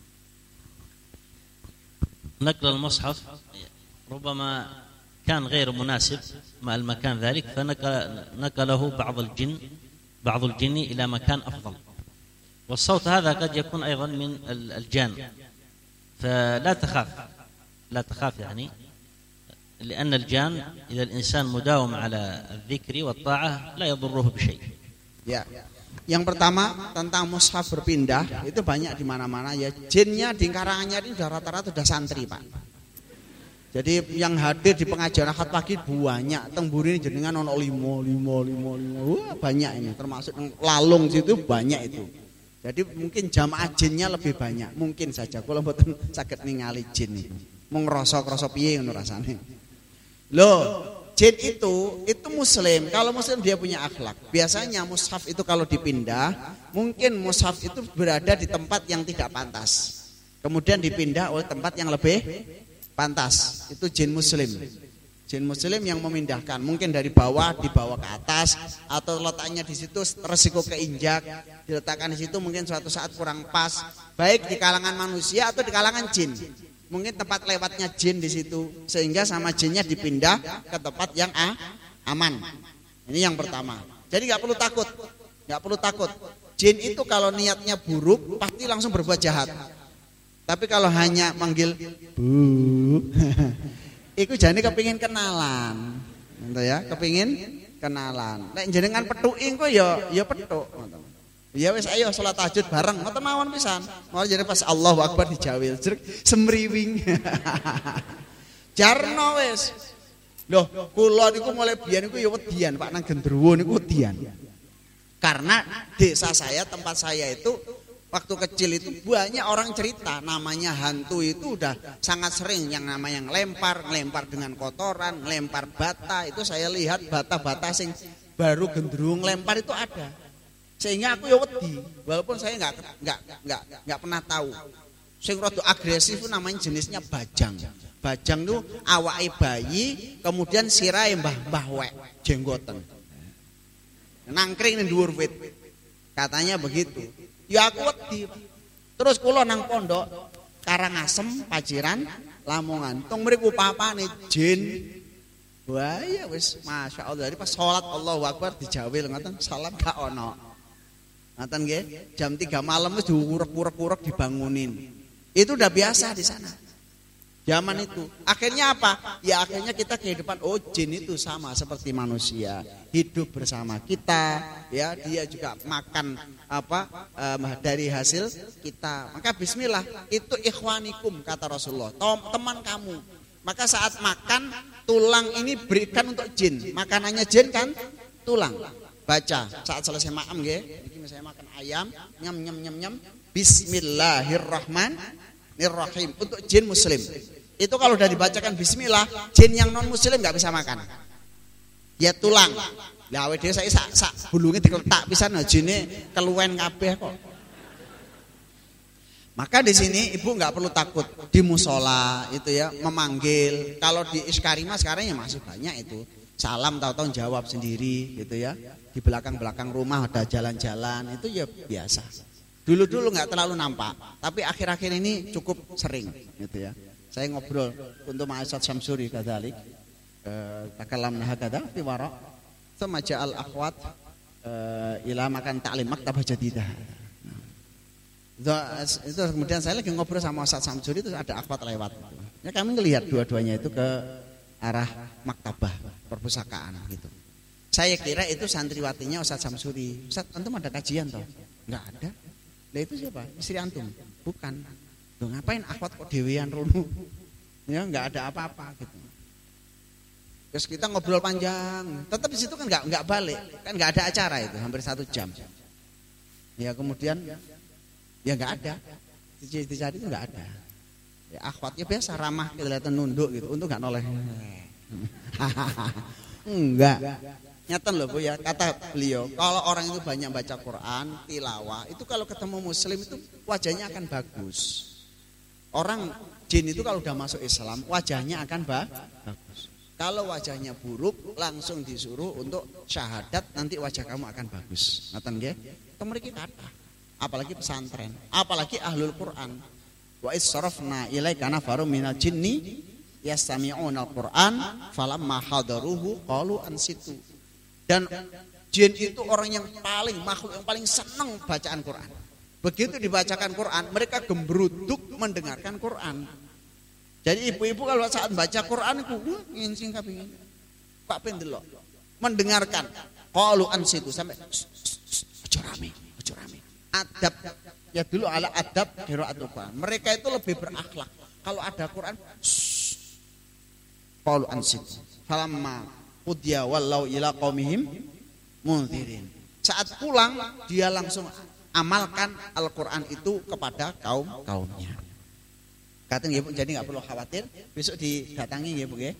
نقل المصحف ربما كان غير مناسب مع المكان ذلك فنقله بعض الجن بعض الجن إلى مكان أفضل والصوت هذا قد يكون أيضا من الجان فلا تخاف لا تخاف يعني لأن الجان إذا الإنسان مداوم على الذكر والطاعة لا يضره بشيء. Ya. Yang pertama tentang mushaf berpindah itu banyak di mana-mana ya. Jinnya di Karanganyar ini sudah rata-rata sudah santri, Pak. Jadi yang hadir di pengajian akad pagi banyak. Tengburi ini jenengan ono limo limo limo limo. Wah, banyak ini. Termasuk Lalung situ banyak itu. Jadi mungkin jamaah jinnya lebih banyak. Mungkin saja kula mboten saged ningali jin niku. Mung ngrasa-krasa piye ngono rasane. Loh, jin itu itu muslim. Kalau muslim dia punya akhlak. Biasanya mushaf itu kalau dipindah, mungkin mushaf itu berada di tempat yang tidak pantas. Kemudian dipindah oleh tempat yang lebih pantas. Itu jin muslim. Jin muslim yang memindahkan, mungkin dari bawah dibawa ke atas atau letaknya di situ resiko keinjak, diletakkan di situ mungkin suatu saat kurang pas, baik di kalangan manusia atau di kalangan jin. Mungkin tempat lewatnya jin di situ sehingga sama jinnya dipindah ke tempat yang ah, aman. Ini yang pertama. Jadi nggak perlu takut, nggak perlu takut. Jin itu kalau niatnya buruk pasti langsung berbuat jahat. Tapi kalau hanya manggil bu, iku jane kepingin kenalan, gitu ya, kepingin kenalan. Nek jenengan petuki engko ya ya petuk. Ya wis ayo salat tahajud bareng, ngoten mawon pisan. Mau jare pas Allahu Akbar dijawil, jrek semriwing. Jarno wis. Loh, kula niku mulai biyen niku ya wedian, Pak, nang Gendruwo niku wedian. Karena desa saya, tempat saya itu waktu kecil itu banyak orang cerita namanya hantu itu udah sangat sering yang namanya ngelempar, ngelempar dengan kotoran, ngelempar bata. Itu saya lihat bata-bata sing baru gendruwo ngelempar itu ada. Sehingga aku ya wedi, walaupun saya nggak nggak nggak nggak pernah tahu. Sing rada agresif itu namanya jenisnya bajang. Bajang itu awake bayi, kemudian sirahe mbah-mbah wek, jenggoten. Nangkring ning dhuwur wit. Katanya begitu. Ya aku wedi. Terus kula nang pondok Karangasem, Paciran, Lamongan. Tong mriku papane jin. Wah ya wis masyaallah. Jadi pas salat Allahu Akbar dijawil ngoten, salat gak ono. Ngoten nggih, jam tiga malam wis diurek-urek-urek dibangunin. Itu udah biasa di sana. Zaman itu. Akhirnya apa? Ya akhirnya kita kehidupan oh jin itu sama seperti manusia, hidup bersama kita, ya dia juga makan apa um, dari hasil kita. Maka bismillah, itu ikhwanikum kata Rasulullah, teman kamu. Maka saat makan tulang ini berikan untuk jin. Makanannya jin kan tulang. Baca saat selesai makan nggih. Iki saya makan ayam, nyam nyam nyam nyam. Bismillahirrahmanirrahim untuk jin muslim. Itu kalau udah dibacakan bismillah, jin yang non muslim nggak bisa makan. Ya tulang. Lah awake dhewe saiki sak sak bulunge dikeletak pisan jine keluwen kabeh kok. Maka di sini ibu nggak perlu takut di musola itu ya memanggil. Kalau di Iskarima sekarang ya masih banyak itu. Salam tahu-tahu jawab sendiri gitu ya. Di belakang-belakang rumah ada jalan-jalan itu ya biasa. Dulu-dulu nggak terlalu nampak, tapi akhir-akhir ini cukup sering gitu ya. Saya ngobrol untuk Ma'asad Syamsuri kadzalik. Eh takalamna hakada fi wara. Tsumma ja'al akhwat ila makan ta'lim maktabah jadidah. Itu kemudian saya lagi ngobrol sama Ustaz Syamsuri itu ada akhwat lewat. Ya kami ngelihat dua-duanya itu ke arah maktabah perpustakaan gitu. Saya kira itu santriwatinya Ustaz Syamsuri. Ustaz, antum ada kajian toh? Enggak ada. Lah itu siapa? Istri antum? Bukan. Loh ngapain akhwat kok dewean rono? Ya enggak ada apa-apa gitu. Terus kita ngobrol panjang. Tetap di situ kan enggak enggak balik. Kan enggak ada acara itu, hampir satu jam. Ya kemudian ya enggak ada. Dicari itu enggak ada. Ya akhwatnya biasa ramah kelihatan nunduk gitu. Untuk enggak noleh. Enggak. Nyatan loh Bu ya, kata beliau, kalau orang itu banyak baca Quran, tilawah, itu kalau ketemu muslim itu wajahnya akan bagus. Orang jin itu kalau udah masuk Islam, wajahnya akan ba- bagus. Kalau wajahnya buruk, langsung disuruh untuk syahadat, nanti wajah kamu akan bagus. Nyatan nggih? Itu mereka kata. Apalagi pesantren, apalagi ahlul Quran. Wa is-sarafna ilaika nafarum minal jinni yastami'una al-Quran falamma hadaruhu qalu ansitu. Dan jin itu orang yang paling makhluk yang paling senang bacaan Quran. Begitu dibacakan Quran, mereka gembruduk mendengarkan Quran. Jadi ibu-ibu kalau saat baca Quran itu ngincing kaping. Pak pendelok mendengarkan. Qalu ansitu sampai ojo rame, ojo rame. Adab ya dulu ala adab qiraatul Quran. Mereka itu lebih berakhlak. Kalau ada Quran qalu ansitu. Falamma qudiya wallau ila qaumihim munzirin. Saat pulang dia langsung amalkan Al-Quran itu kepada kaum-kaumnya. Katanya ibu, jadi nggak perlu khawatir. Besok didatangi ya bu ya.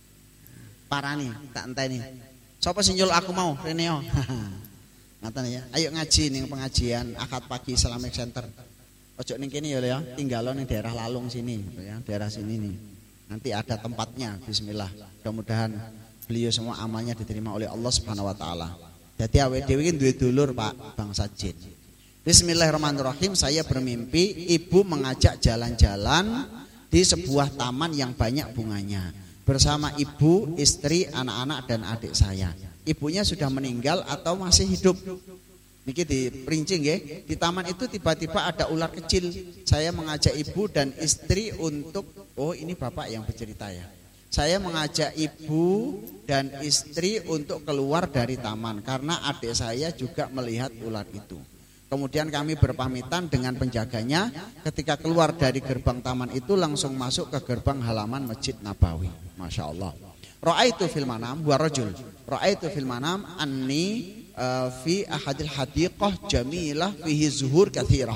Parani, tak enteni. Sopo sinjul aku mau, Reneo. Ngatan ya. Ayo ngaji nih pengajian akad pagi Islamic Center. Ojo ning kene ya ya. Tinggalon ning daerah Lalung sini, ya daerah sini nih. Nanti ada tempatnya. Bismillah. Mudah-mudahan beliau semua amalnya diterima oleh Allah Subhanahu Wa Taala. Jadi awake dhewe iki duwe dulur Pak Bang Sajid. Bismillahirrahmanirrahim. Saya bermimpi ibu mengajak jalan-jalan di sebuah taman yang banyak bunganya bersama ibu, istri, anak-anak dan adik saya. Ibunya sudah meninggal atau masih hidup? Niki diperinci nggih. Di taman itu tiba-tiba ada ular kecil. Saya mengajak ibu dan istri untuk oh ini bapak yang bercerita ya. Saya mengajak ibu dan istri untuk keluar dari taman karena adik saya juga melihat ular itu. Kemudian kami berpamitan dengan penjaganya. Ketika keluar dari gerbang taman itu langsung masuk ke gerbang halaman Masjid Nabawi. Masya Allah. Ra'aitu fil manam wa rajul. Ra'aitu fil manam anni uh, fi ahadil hadiqah jamilah fihi zuhur kathirah.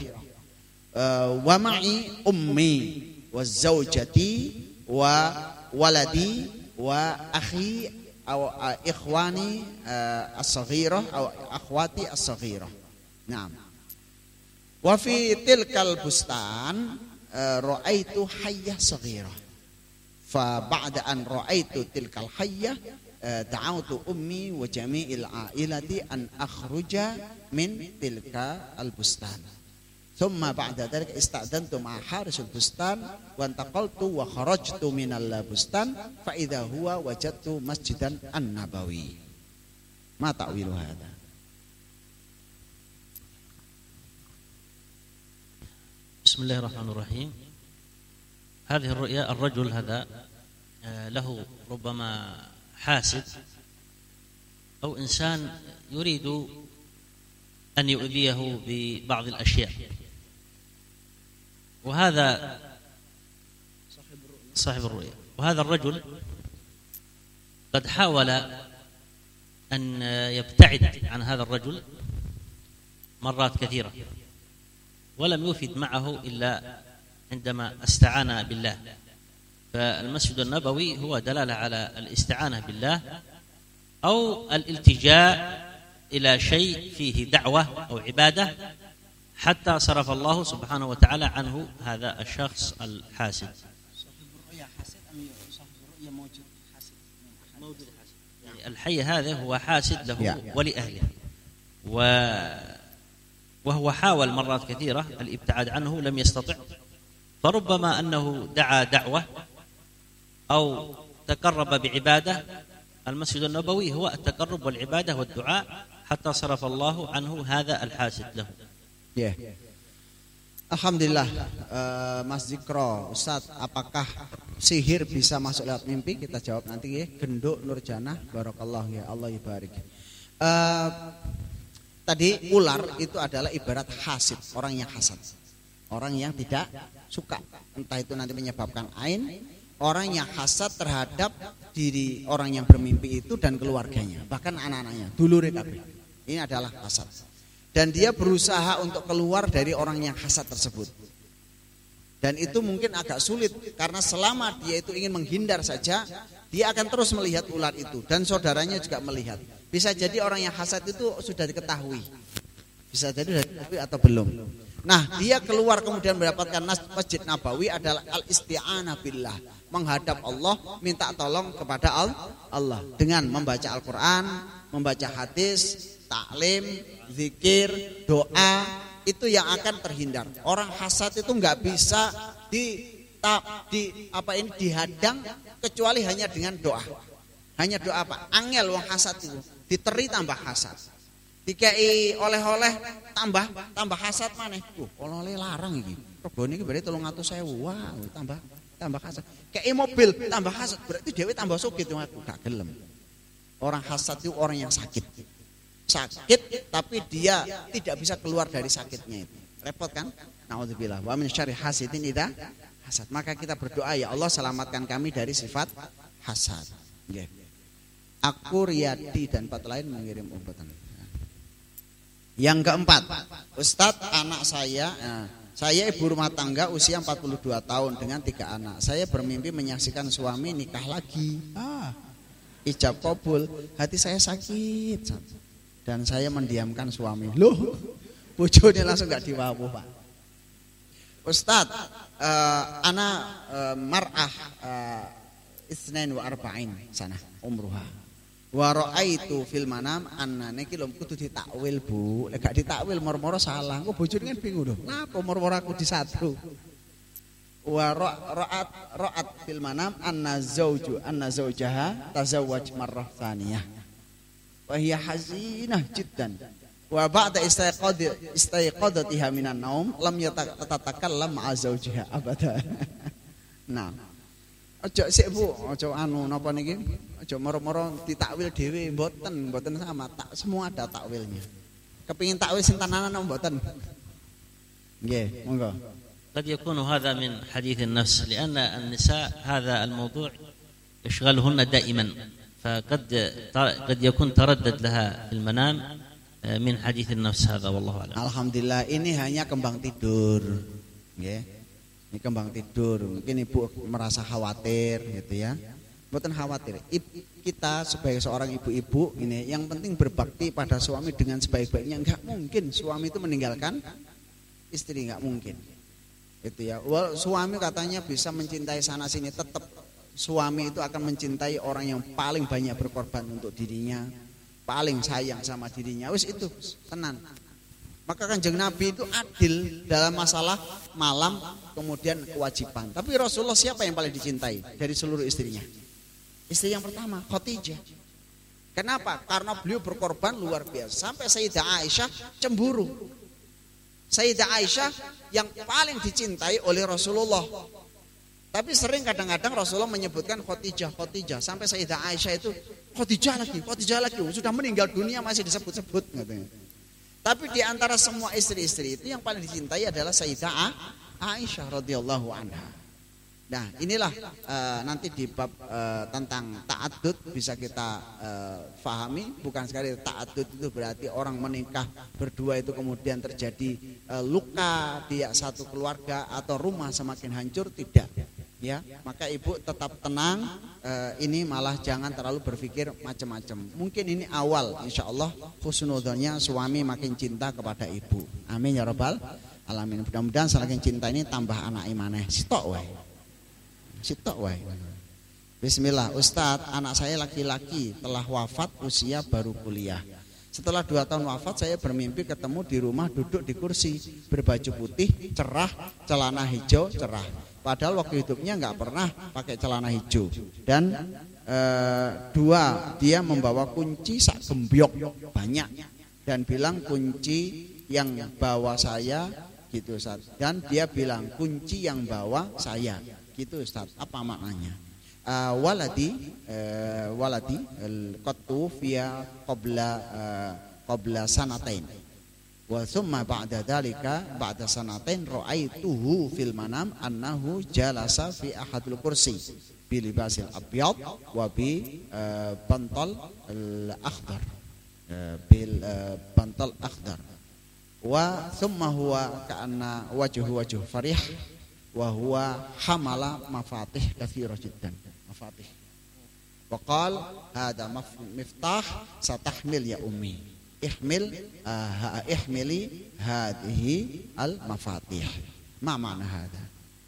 Uh, wa ma'i ummi wa zawjati wa waladi wa akhi aw uh, ikhwani uh, as-saghirah aw akhwati as-saghirah. Naam. Wa fi tilkal bustan ra'aitu hayyah saghirah. Fa ba'da an ra'aitu tilkal hayyah da'awtu ummi wa jami'il ailati an akhruja min tilka al bustan. Thumma ba'da dhalika ista'dantu ma'a harisul bustan wa antaqaltu wa kharajtu minal bustan fa idza huwa wajadtu masjidan an-nabawi. Ma ta'wilu hadha? بسم الله الرحمن الرحيم. هذه الرؤيا الرجل هذا له ربما حاسد أو إنسان يريد أن يؤذيه ببعض الأشياء، وهذا صاحب الرؤيا. وهذا الرجل قد حاول أن يبتعد عن هذا الرجل مرات كثيرة ولم يفد معه إلا عندما استعان بالله. فالمسجد النبوي هو دلالة على الاستعانة بالله أو الالتجاء إلى شيء فيه دعوة أو عبادة حتى صرف الله سبحانه وتعالى عنه هذا الشخص الحاسد. يعني الحي هذا هو حاسد له ولأهله، و وهو حاول مرات كثيرة الابتعاد عنه لم يستطع، فربما أنه دعا دعوة أو تقرب بعبادة. المسجد النبوي هو التقرب والعبادة والدعاء حتى صرف الله عنه هذا الحاسد له. Yeah. Alhamdulillah, uh, Mas Zikro, Ustadz, apakah sihir bisa masuk lewat mimpi? Kita jawab nanti ya. Genduk Nurjana, barakallah ya, Allah ibarik. Uh, Tadi ular itu adalah ibarat hasid, orang yang hasad, orang yang tidak suka, entah itu nanti menyebabkan ain, orang yang hasad terhadap diri orang yang bermimpi itu dan keluarganya, bahkan anak-anaknya, dulure kabeh. Ini adalah hasad. Dan dia berusaha untuk keluar dari orang yang hasad tersebut. Dan itu mungkin agak sulit karena selama dia itu ingin menghindar saja, dia akan terus melihat ular itu dan saudaranya juga melihat. Bisa jadi orang yang hasad itu sudah diketahui. Bisa jadi sudah diketahui atau belum. Nah, dia keluar kemudian mendapatkan Masjid Nabawi adalah al-isti'anah billah, menghadap Allah, minta tolong kepada Allah dengan membaca Al-Qur'an, membaca hadis, taklim, zikir, doa, itu yang akan terhindar. Orang hasad itu enggak bisa di di apa ini dihadang kecuali hanya dengan doa. Hanya doa apa? Angel wong hasad itu diteri tambah hasad. Dikai oleh-oleh tambah tambah hasad maneh. Uh, oleh-oleh larang iki. Regane iki berarti telung atus ewu. Wah, tambah tambah hasad. Kei mobil tambah hasad berarti dhewe tambah sugih tuh aku gak gelem. Orang hasad itu orang yang sakit. Sakit tapi dia tidak bisa keluar dari sakitnya itu. Repot kan? Nauzubillah. Wa min syarri hasidin idza hasad. Maka kita berdoa, ya Allah selamatkan kami dari sifat hasad. Nggih. Aku Riyadi dan empat lain mengirim umpatan. Yang keempat, Ustadz, anak saya, nah, saya ibu rumah tangga usia empat puluh dua tahun dengan tiga anak. Saya bermimpi menyaksikan suami nikah lagi. Ah, ijab kabul, hati saya sakit dan saya mendiamkan suami. Loh, bojone langsung gak diwawu, Pak. Ustadz, uh, anak uh, mar'ah uh, isnain wa arba'in sana umruha. Wa ra'aitu fil manam annane iki lho kudu ditakwil, Bu. Lek gak ditakwil moro-moro salah. Kok bojone kan bingung lho. Napa moro-moro aku disatru. Wa ra'at ra'at fil manam anna zauju anna zaujaha tazawwaj marrah tsaniyah. Wa hiya hazinah jiddan. Wa ba'da istayqad istayqadatiha minan naum lam yatatakallam ma'a zaujiha abada. Nah, ojo sik Bu, ojo anu napa niki? Ojo moro-moro ditakwil dhewe, mboten, mboten sama, tak semua ada takwilnya. Kepengin takwil sing tenanan mboten. Nggih, monggo. قد يكون هذا من حديث النفس لأن النساء هذا الموضوع يشغلهن دائما فقد قد يكون تردد لها في المنام من حديث النفس هذا والله أعلم. Alhamdulillah ini hanya kembang tidur, nggih. Ini kembang tidur, mungkin ibu merasa khawatir gitu ya. Mboten khawatir. Kita sebagai seorang ibu-ibu ini yang penting berbakti pada suami dengan sebaik-baiknya. Enggak mungkin suami itu meninggalkan istri, enggak mungkin. Gitu ya. Well, suami katanya bisa mencintai sana sini, tetap suami itu akan mencintai orang yang paling banyak berkorban untuk dirinya, paling sayang sama dirinya. Wis itu tenan. Maka Kanjeng Nabi itu adil dalam masalah malam kemudian kewajiban. Tapi Rasulullah siapa yang paling dicintai dari seluruh istrinya? Istri yang pertama, Khadijah. Kenapa? Karena beliau berkorban luar biasa. Sampai Sayyidah Aisyah cemburu. Sayyidah Aisyah yang paling dicintai oleh Rasulullah. Tapi sering kadang-kadang Rasulullah menyebutkan Khadijah, Khadijah. Sampai Sayyidah Aisyah itu Khadijah lagi, Khadijah lagi. Sudah meninggal dunia masih disebut-sebut. Tapi di antara semua istri-istri itu yang paling dicintai adalah Sayyidah Aisyah radhiyallahu anha. Nah, inilah uh, nanti di bab uh, tentang ta'addud bisa kita uh, fahami. Bukan sekali ta'addud itu berarti orang menikah berdua itu kemudian terjadi uh, luka di satu keluarga atau rumah semakin hancur, tidak. Ya, maka ibu tetap tenang. Uh, ini malah jangan terlalu berpikir macam-macam. Mungkin ini awal, insya Allah husnudzonnya suami makin cinta kepada ibu. Amin ya rabbal alamin. Mudah-mudahan semakin cinta ini tambah anak imaneh. Sitok wae. Sitok wae. Bismillah, Ustadz, anak saya laki-laki telah wafat usia baru kuliah. Setelah dua tahun wafat, saya bermimpi ketemu di rumah duduk di kursi, berbaju putih, cerah, celana hijau, cerah. Padahal waktu hidupnya nggak pernah pakai celana hijau. Dan e, dua, dia membawa kunci sak gembyok banyak dan bilang kunci yang bawa saya gitu Ustaz. Dan dia bilang kunci yang bawa saya gitu Ustaz. Apa maknanya? Uh, waladi uh, waladi al-qattu fiya qabla uh, qabla sanatain. Wa thumma ba'da dalika ba'da sanatain ra'aituhu fil manam annahu jalasa fi ahadil kursi bi libasil abyad wa bi uh, bantal al-akhdar uh, bil uh, bantal akhdar wa thumma huwa ka'anna wajhu wajhu farih wa huwa hamala mafatih katsira jiddan mafatih wa qala hada miftah satahmil ya ummi ihmil uh, ihmili hadhihi al mafatih. Ma makna hada?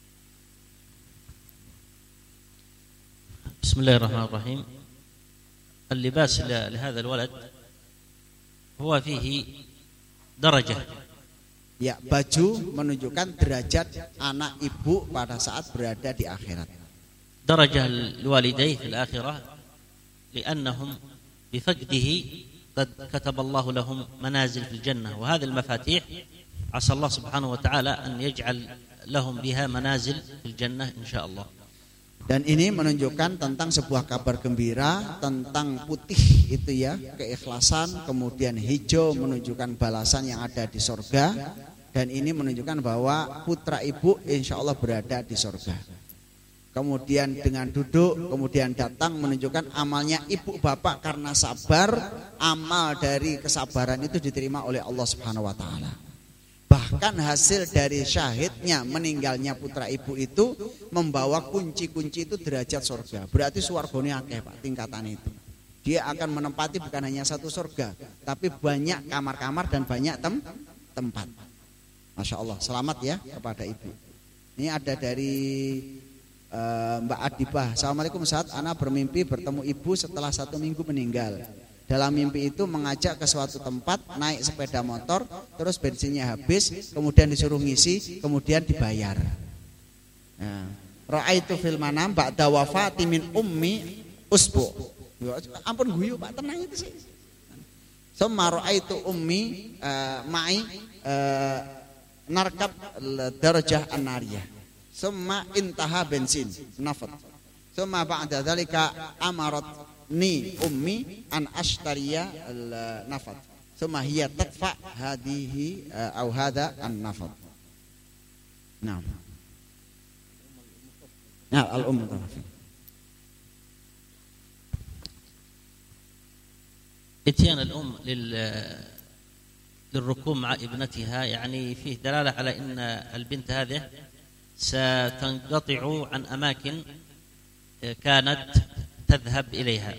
Bismillahirrahmanirrahim. اللباس لهذا الولد هو فيه درجة. Ya, baju menunjukkan derajat anak ibu pada saat berada di akhirat. درجة الوالدين في الآخرة لأنهم بفقده قد كتب الله لهم منازل في الجنة، وهذه المفاتيح عسى الله سبحانه وتعالى أن يجعل لهم بها منازل في الجنة إن شاء الله. Dan ini menunjukkan tentang sebuah kabar gembira tentang putih itu ya, keikhlasan, kemudian hijau menunjukkan balasan yang ada di surga, dan ini menunjukkan bahwa putra ibu insya Allah berada di surga. Kemudian dengan duduk, kemudian datang menunjukkan amalnya ibu bapak karena sabar, amal dari kesabaran itu diterima oleh Allah Subhanahu wa taala. Bahkan hasil dari syahidnya meninggalnya putra ibu itu membawa kunci-kunci itu derajat surga. Berarti surganya akeh Pak, tingkatan itu. Dia akan menempati bukan hanya satu surga, tapi banyak kamar-kamar dan banyak tem tempat. Masya Allah, selamat ya kepada ibu. Ini ada dari uh, Mbak Adibah. Assalamualaikum Ustaz, ana bermimpi bertemu ibu setelah satu minggu meninggal. Dalam mimpi itu mengajak ke suatu tempat, naik sepeda motor, terus bensinnya habis, kemudian disuruh ngisi, kemudian dibayar. Nah, ra'aitu fil manam ba'da wafati min ummi usbu. Ampun guyu Pak, tenang itu sih. Summa ra'aitu ummi uh, ma'i uh, narkab darajah an-nariyah. Summa intaha bensin nafat. Summa ba'da dzalika amarat ni ummi an ashtariya al-nafad thumma hiya tadfa hadhihi aw hadha an-nafad. Naam. Nah, al-umm tafi. اتيان الأم للركوب مع ابنتها يعني فيه دلالة على أن البنت هذه ستنقطع عن أماكن كانت تذهب إليها،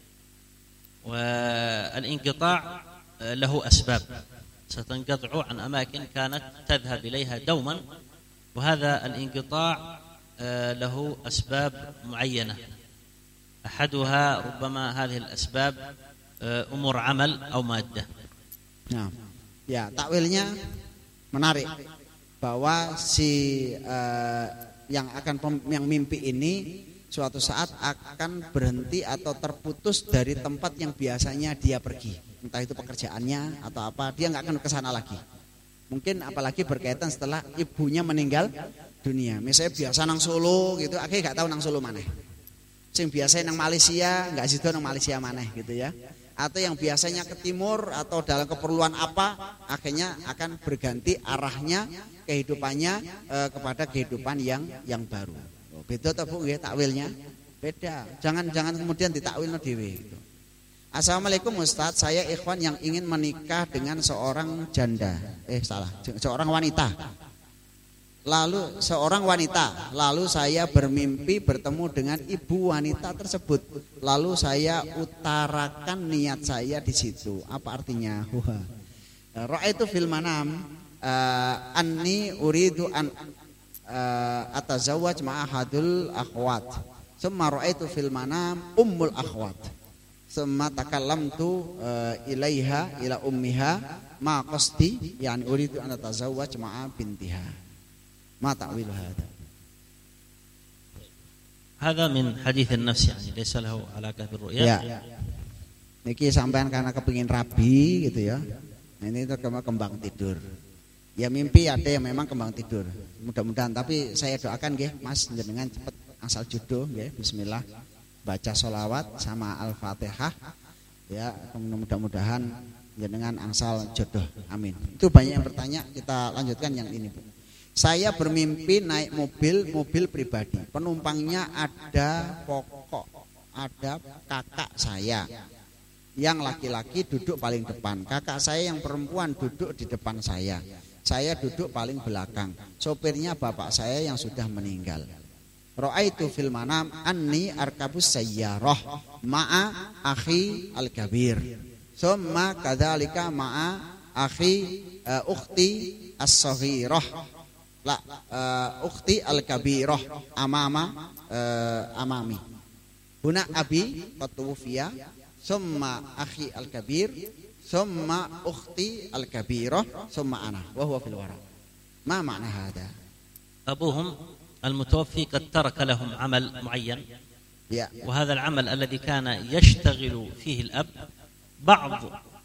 والانقطاع له أسباب، ستنقطع عن أماكن كانت تذهب إليها دوما، وهذا الانقطاع له أسباب معينة، أحدها ربما هذه الأسباب أمور عمل أو مادة. Nah, ya takwilnya menarik bahwa si uh, yang akan pem, yang mimpi ini suatu saat akan berhenti atau terputus dari tempat yang biasanya dia pergi, entah itu pekerjaannya atau apa, dia nggak akan ke sana lagi. Mungkin apalagi berkaitan setelah ibunya meninggal dunia. Misalnya biasa nang Solo gitu, akhirnya nggak tahu nang Solo mana. Sing biasa nang Malaysia nggak situ nang Malaysia mana gitu ya. Atau yang biasanya ke timur atau dalam keperluan apa, akhirnya akan berganti arahnya kehidupannya e, kepada kehidupan yang yang baru. Beda atau Bu nggih takwilnya? Beda. Jangan jangan kemudian ditakwilno dhewe gitu. Assalamualaikum Ustaz, saya ikhwan yang ingin menikah dengan seorang janda. Eh salah, seorang wanita. Lalu seorang wanita, lalu saya bermimpi bertemu dengan ibu wanita tersebut. Lalu saya utarakan niat saya di situ. Apa artinya? Ra'aitu fil manam uh, anni uridu an Uh, atazawwaj ma'ahadul akhwat. Summa ra'aitu fil manam ummul akhwat. Summa takallamtu uh, ilaiha ila ummiha ma qasti yani uridu an atazawwaj ma'a bintiha. Ma ta'wil hadha? Hadha min hadits an-nafs yani laysa lahu alaqah bir-ru'ya. Ya. Niki sampean karena kepengin rabi gitu ya. Nah, ini itu kembang tidur. Ya mimpi ada yang memang kembang tidur. Mudah-mudahan, tapi saya doakan nggih Mas jenengan cepat asal jodoh nggih. Bismillah. Baca sholawat sama Al-Fatihah. Ya, mudah-mudahan jenengan angsal jodoh. Amin. Itu banyak yang bertanya, kita lanjutkan yang ini, Bu. Saya bermimpi naik mobil, mobil pribadi. Penumpangnya ada pokok, ada kakak saya. Yang laki-laki duduk paling depan. Kakak saya yang perempuan duduk di depan saya. Saya duduk paling belakang. Sopirnya bapak saya yang sudah meninggal. Ra'aitu fil manam anni arkabus sayyarah ma'a akhi al-kabir. Summa kadzalika ma'a akhi uh, ukhti as-saghirah. La uh, ukhti al-kabirah amama uh, amami. Huna abi qad tuwfiya. Summa akhi al-kabir. Summa ukhti al-kabirah summa ana wa huwa fil wara. Ma ma'na hada? أبوهم المتوفي قد ترك لهم عمل معين وهذا العمل الذي كان يشتغل فيه الأب بعض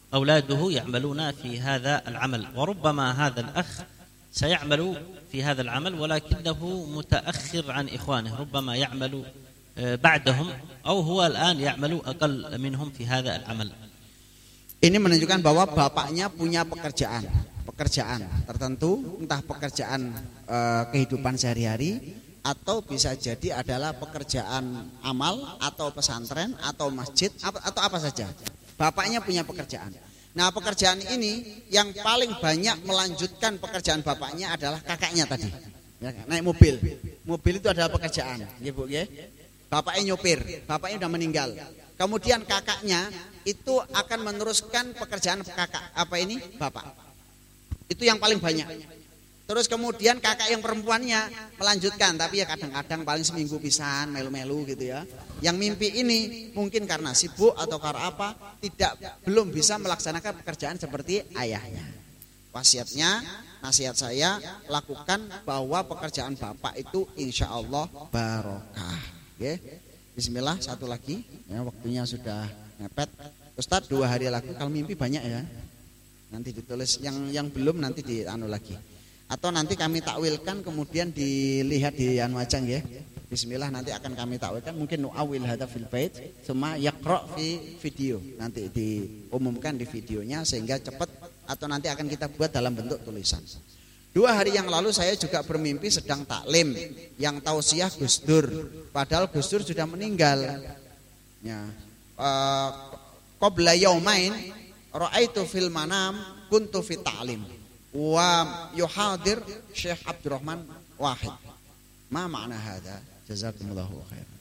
أولاده يعملون في هذا العمل، وربما هذا الأخ سيعمل في هذا العمل ولكنه متأخر عن إخوانه، ربما يعمل بعدهم أو هو الآن يعمل أقل منهم في هذا العمل. Ini menunjukkan bahwa bapaknya punya pekerjaan, pekerjaan tertentu, entah pekerjaan e, kehidupan sehari-hari atau bisa jadi adalah pekerjaan amal atau pesantren atau masjid atau apa saja. Bapaknya punya pekerjaan. Nah, pekerjaan ini yang paling banyak melanjutkan pekerjaan bapaknya adalah kakaknya tadi. Ya, naik mobil. Mobil itu adalah pekerjaan, ya Bu, ya. Bapaknya nyopir, bapaknya sudah meninggal. Kemudian kakaknya itu akan meneruskan pekerjaan kakak apa ini? Bapak. Itu yang paling banyak. Terus kemudian kakak yang perempuannya melanjutkan, tapi ya kadang-kadang paling seminggu pisan, melu-melu gitu ya. Yang mimpi ini mungkin karena sibuk atau karena apa, tidak belum bisa melaksanakan pekerjaan seperti ayahnya. Wasiatnya, nasihat saya, lakukan bahwa pekerjaan bapak itu insya Allah barokah. Oke, bismillah, satu lagi, ya, waktunya sudah mepet. Ustadz, dua hari lagi, kalau mimpi banyak ya, nanti ditulis, yang yang belum nanti di anu lagi. Atau nanti kami takwilkan kemudian dilihat di anu ajang ya. Bismillah, nanti akan kami takwilkan, mungkin nu'awil hadza fil bait, semua yaqra fi video. Nanti diumumkan di videonya sehingga cepat, atau nanti akan kita buat dalam bentuk tulisan. Dua hari yang lalu saya juga bermimpi sedang taklim yang tausiah Gus Dur, padahal Gus Dur sudah meninggal. Ya. Qabla yaumain ra'aitu fil manam kuntu fi ta'lim wa yuhadir Syekh Abdurrahman Wahid. Ma makna hadza? Jazakumullahu khairan.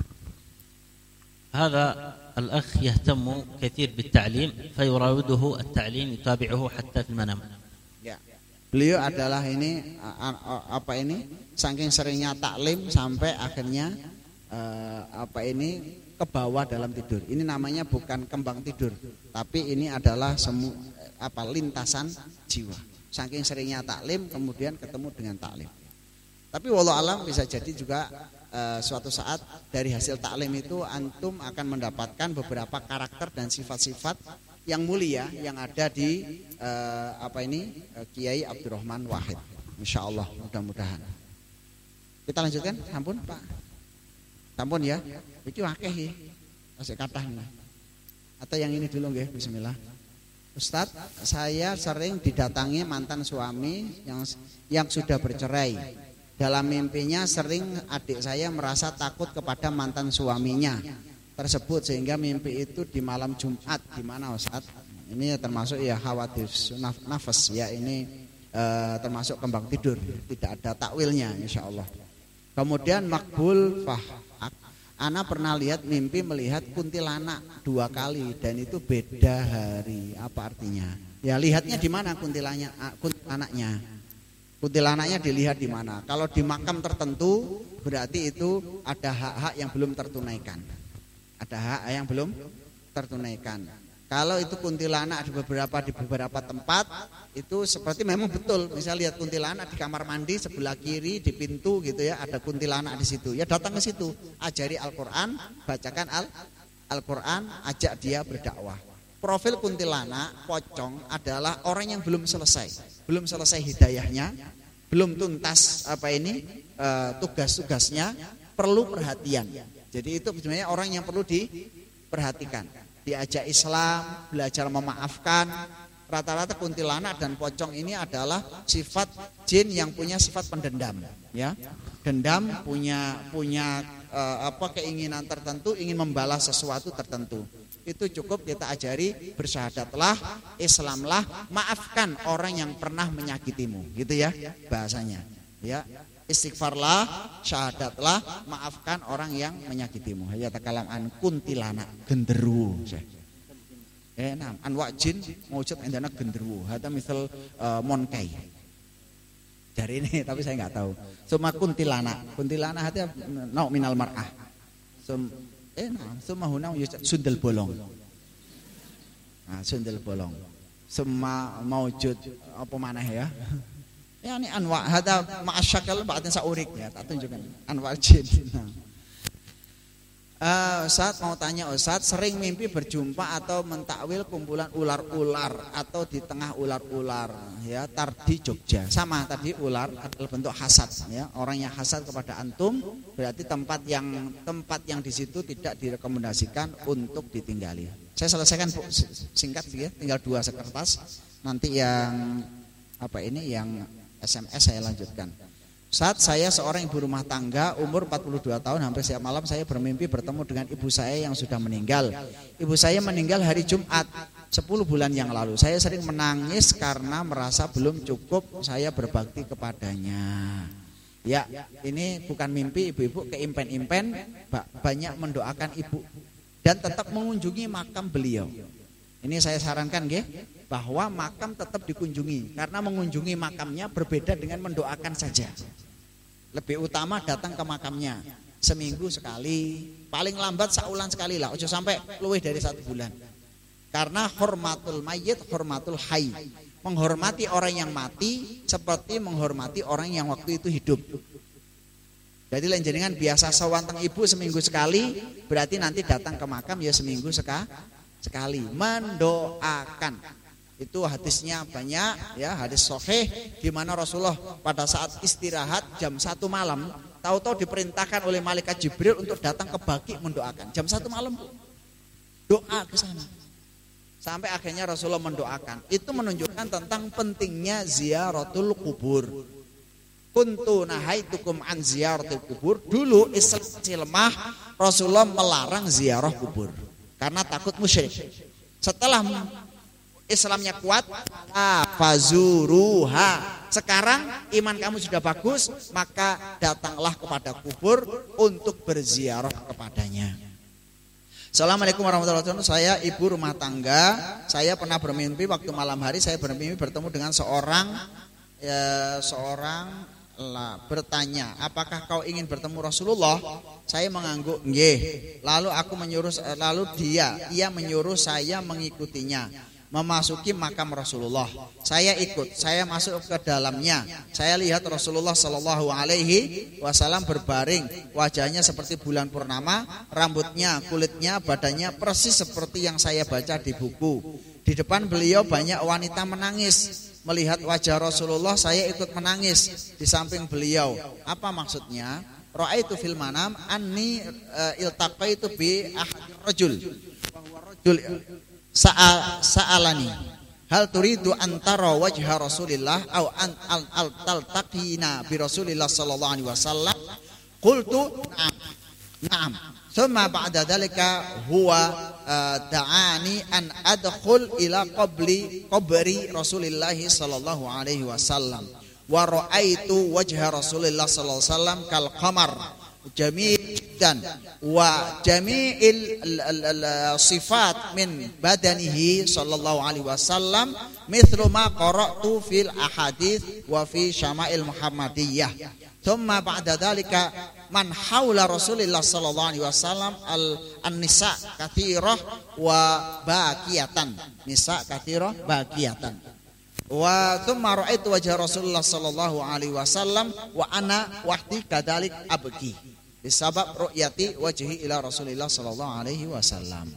هذا الأخ يهتم كثير بالتعليم فيراوده التعليم يتابعه حتى في المنام. Ya. Beliau adalah ini apa ini saking seringnya taklim sampai akhirnya uh, apa ini ke bawah dalam tidur. Ini namanya bukan kembang tidur, tapi ini adalah semu apa lintasan jiwa. Saking seringnya taklim kemudian ketemu dengan taklim. Tapi wallahu alam bisa jadi juga uh, suatu saat dari hasil taklim itu antum akan mendapatkan beberapa karakter dan sifat-sifat yang mulia yang ada di uh, apa ini uh, Kiai Abdurrahman Wahid. Insyaallah, mudah-mudahan. Kita lanjutkan, sampun Pak. Sampun ya. Iki akeh iki. Masih kathah nih. Atau yang ini dulu nggih, bismillah. Ustadz, saya sering didatangi mantan suami yang yang sudah bercerai. Dalam mimpinya sering adik saya merasa takut kepada mantan suaminya tersebut sehingga mimpi itu di malam Jumat. Di mana Ustaz? Ini termasuk ya khawatir nafas ya, ini e, termasuk kembang tidur, tidak ada takwilnya insyaallah. Kemudian makbul fah, ana pernah lihat mimpi melihat kuntilanak dua kali dan itu beda hari. Apa artinya? Ya lihatnya di mana kuntilanaknya? Kuntilanaknya. Kuntilanaknya dilihat di mana? Kalau di makam tertentu berarti itu ada hak-hak yang belum tertunaikan. Ada hak yang belum tertunaikan. Kalau itu kuntilanak di beberapa di beberapa tempat itu seperti memang betul. Misalnya lihat kuntilanak di kamar mandi sebelah kiri di pintu gitu ya, ada kuntilanak di situ. Ya datang ke situ, ajari Al-Qur'an, bacakan Al Al-Qur'an, ajak dia berdakwah. Profil kuntilanak pocong adalah orang yang belum selesai, belum selesai hidayahnya, belum tuntas apa ini e, tugas-tugasnya, perlu perhatian. Jadi itu sebenarnya orang yang perlu diperhatikan, diajak Islam, belajar memaafkan. Rata-rata kuntilanak dan pocong ini adalah sifat jin yang punya sifat pendendam, ya. Dendam, punya punya e, apa keinginan tertentu, ingin membalas sesuatu tertentu. Itu cukup kita ajari, bersyahadatlah, Islamlah, maafkan orang yang pernah menyakitimu, gitu ya bahasanya. Ya. Istighfarlah, syahadatlah, maafkan orang yang menyakitimu. Ya takalam an kuntilanak genderuwo. Eh nam anwa jin mewujud endana genderuwo. Hata misal uh, monkai. Dari ini tapi saya nggak tahu. Suma kuntilanak. Kuntilanak hati nau minal mar'ah. Sum eh nam suma hunau yujud sundel bolong. Nah, sundel bolong. Suma mewujud apa maneh ya? Ya ini anwa hada ma'asyakal ba'dan sa'urik ya, tak tunjukkan anwa jin. Uh, Ustaz mau tanya Ustaz, sering mimpi berjumpa atau mentakwil kumpulan ular-ular atau di tengah ular-ular ya, tar di Jogja. Sama tadi ular adalah bentuk hasad ya. Orang yang hasad kepada antum berarti tempat yang tempat yang di situ tidak direkomendasikan untuk ditinggali. Saya selesaikan singkat ya, tinggal dua kertas. Nanti yang apa ini yang S M S saya lanjutkan. Saat saya seorang ibu rumah tangga umur empat puluh dua tahun, hampir setiap malam saya bermimpi bertemu dengan ibu saya yang sudah meninggal. Ibu saya meninggal hari Jumat sepuluh bulan yang lalu. Saya sering menangis karena merasa belum cukup saya berbakti kepadanya. Ya, ini bukan mimpi, ibu-ibu keimpen-impen banyak mendoakan ibu dan tetap mengunjungi makam beliau. Ini saya sarankan nggih, bahwa makam tetap dikunjungi, karena mengunjungi makamnya berbeda dengan mendoakan saja. Lebih utama datang ke makamnya seminggu sekali, paling lambat saulan sekali lah, ojo sampai luwih dari satu bulan. Karena hormatul mayyit hormatul hayy, menghormati orang yang mati seperti menghormati orang yang waktu itu hidup. Jadi lain jenengan biasa sawanteng ibu seminggu sekali, berarti nanti datang ke makam ya seminggu sekali. sekali mendoakan. Itu hadisnya banyak ya, hadis sahih di mana Rasulullah pada saat istirahat jam satu malam tahu-tahu diperintahkan oleh malaikat Jibril untuk datang ke Baqi mendoakan. Jam satu malam doa ke sana. Sampai akhirnya Rasulullah mendoakan. Itu menunjukkan tentang pentingnya ziaratul kubur. Kuntu nahaitukum an ziyaratul kubur. Dulu Islam masih lemah, Rasulullah melarang ziarah kubur karena takut musyrik. Setelah Islamnya kuat, fazuruha. Sekarang iman kamu sudah bagus, maka datanglah kepada kubur untuk berziarah kepadanya. Assalamualaikum warahmatullahi wabarakatuh. Saya ibu rumah tangga. Saya pernah bermimpi waktu malam hari saya bermimpi bertemu dengan seorang ya, seorang lah, bertanya, apakah kau ingin bertemu Rasulullah? Saya mengangguk, nggih. Lalu aku menyuruh, lalu dia, ia menyuruh saya mengikutinya, memasuki makam Rasulullah. Saya ikut, saya masuk ke dalamnya. Saya lihat Rasulullah Shallallahu Alaihi Wasallam berbaring, wajahnya seperti bulan purnama, rambutnya, kulitnya, badannya persis seperti yang saya baca di buku. Di depan beliau banyak wanita menangis. Melihat wajah Rasulullah saya ikut menangis di samping beliau. Apa maksudnya? Ra'aitu fil manam anni uh, iltaqaitu bi ahad rajul. Bahwa rajul sa'a sa'alani hal turidu antara wajha Rasulillah au an al, al taltaqina bi Rasulillah sallallahu alaihi wasallam. Qultu na'am. Na'am. Thumma ba'da dhalika huwa uh, da'ani an adkhul ila qabli qabri Rasulillah sallallahu alaihi wasallam wa ra'aitu wajha Rasulillah sallallahu alaihi wasallam kal qamar jamil jiddan wa jami'il sifat min badanihi sallallahu alaihi wasallam mithlu ma qara'tu fil ahadits wa fi syama'il Muhammadiyah. Thumma ba'da dhalika man haula Rasulillah sallallahu alaihi wasallam al an-nisa katsirah wa baqiyatan. Nisa katsirah baqiyatan. Wa thumma ra'aitu wajha Rasulullah sallallahu alaihi wasallam wa ana wahdi kadzalik abki. Bisabab ru'yati wajhi ila Rasulillah sallallahu alaihi wasallam.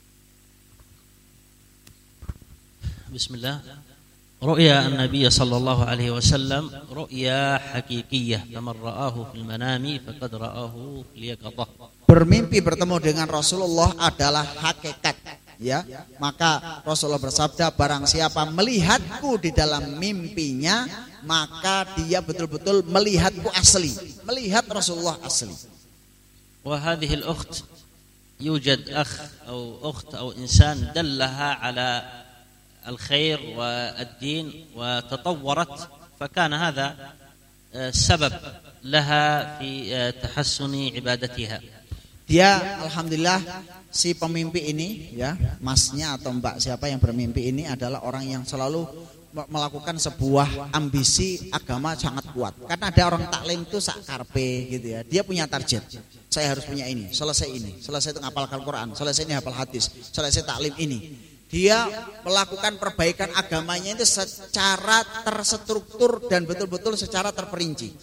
Bismillah. رؤيا النبي صلى الله عليه وسلم رؤيا حقيقية فمن رآه في المنام فقد رآه في اليقظة. Bermimpi bertemu dengan Rasulullah adalah hakikat ya. Maka Rasulullah bersabda, barang siapa melihatku di dalam mimpinya maka dia betul-betul melihatku asli, melihat Rasulullah asli. وهذه الأخت يوجد أخ أو أخت أو إنسان دلها على الخير والدين وتطورت فكان هذا سبب لها في تحسن عبادتها. Dia alhamdulillah si pemimpi ini ya, masnya atau mbak siapa yang bermimpi ini adalah orang yang selalu melakukan sebuah ambisi agama sangat kuat. Karena ada orang taklim itu sak karpe gitu ya. Dia punya target. Saya harus punya ini, selesai ini, selesai itu ngapal Al-Qur'an, selesai ini hafal hadis, selesai taklim ini. Dia melakukan perbaikan agamanya itu secara terstruktur dan betul-betul secara terperinci.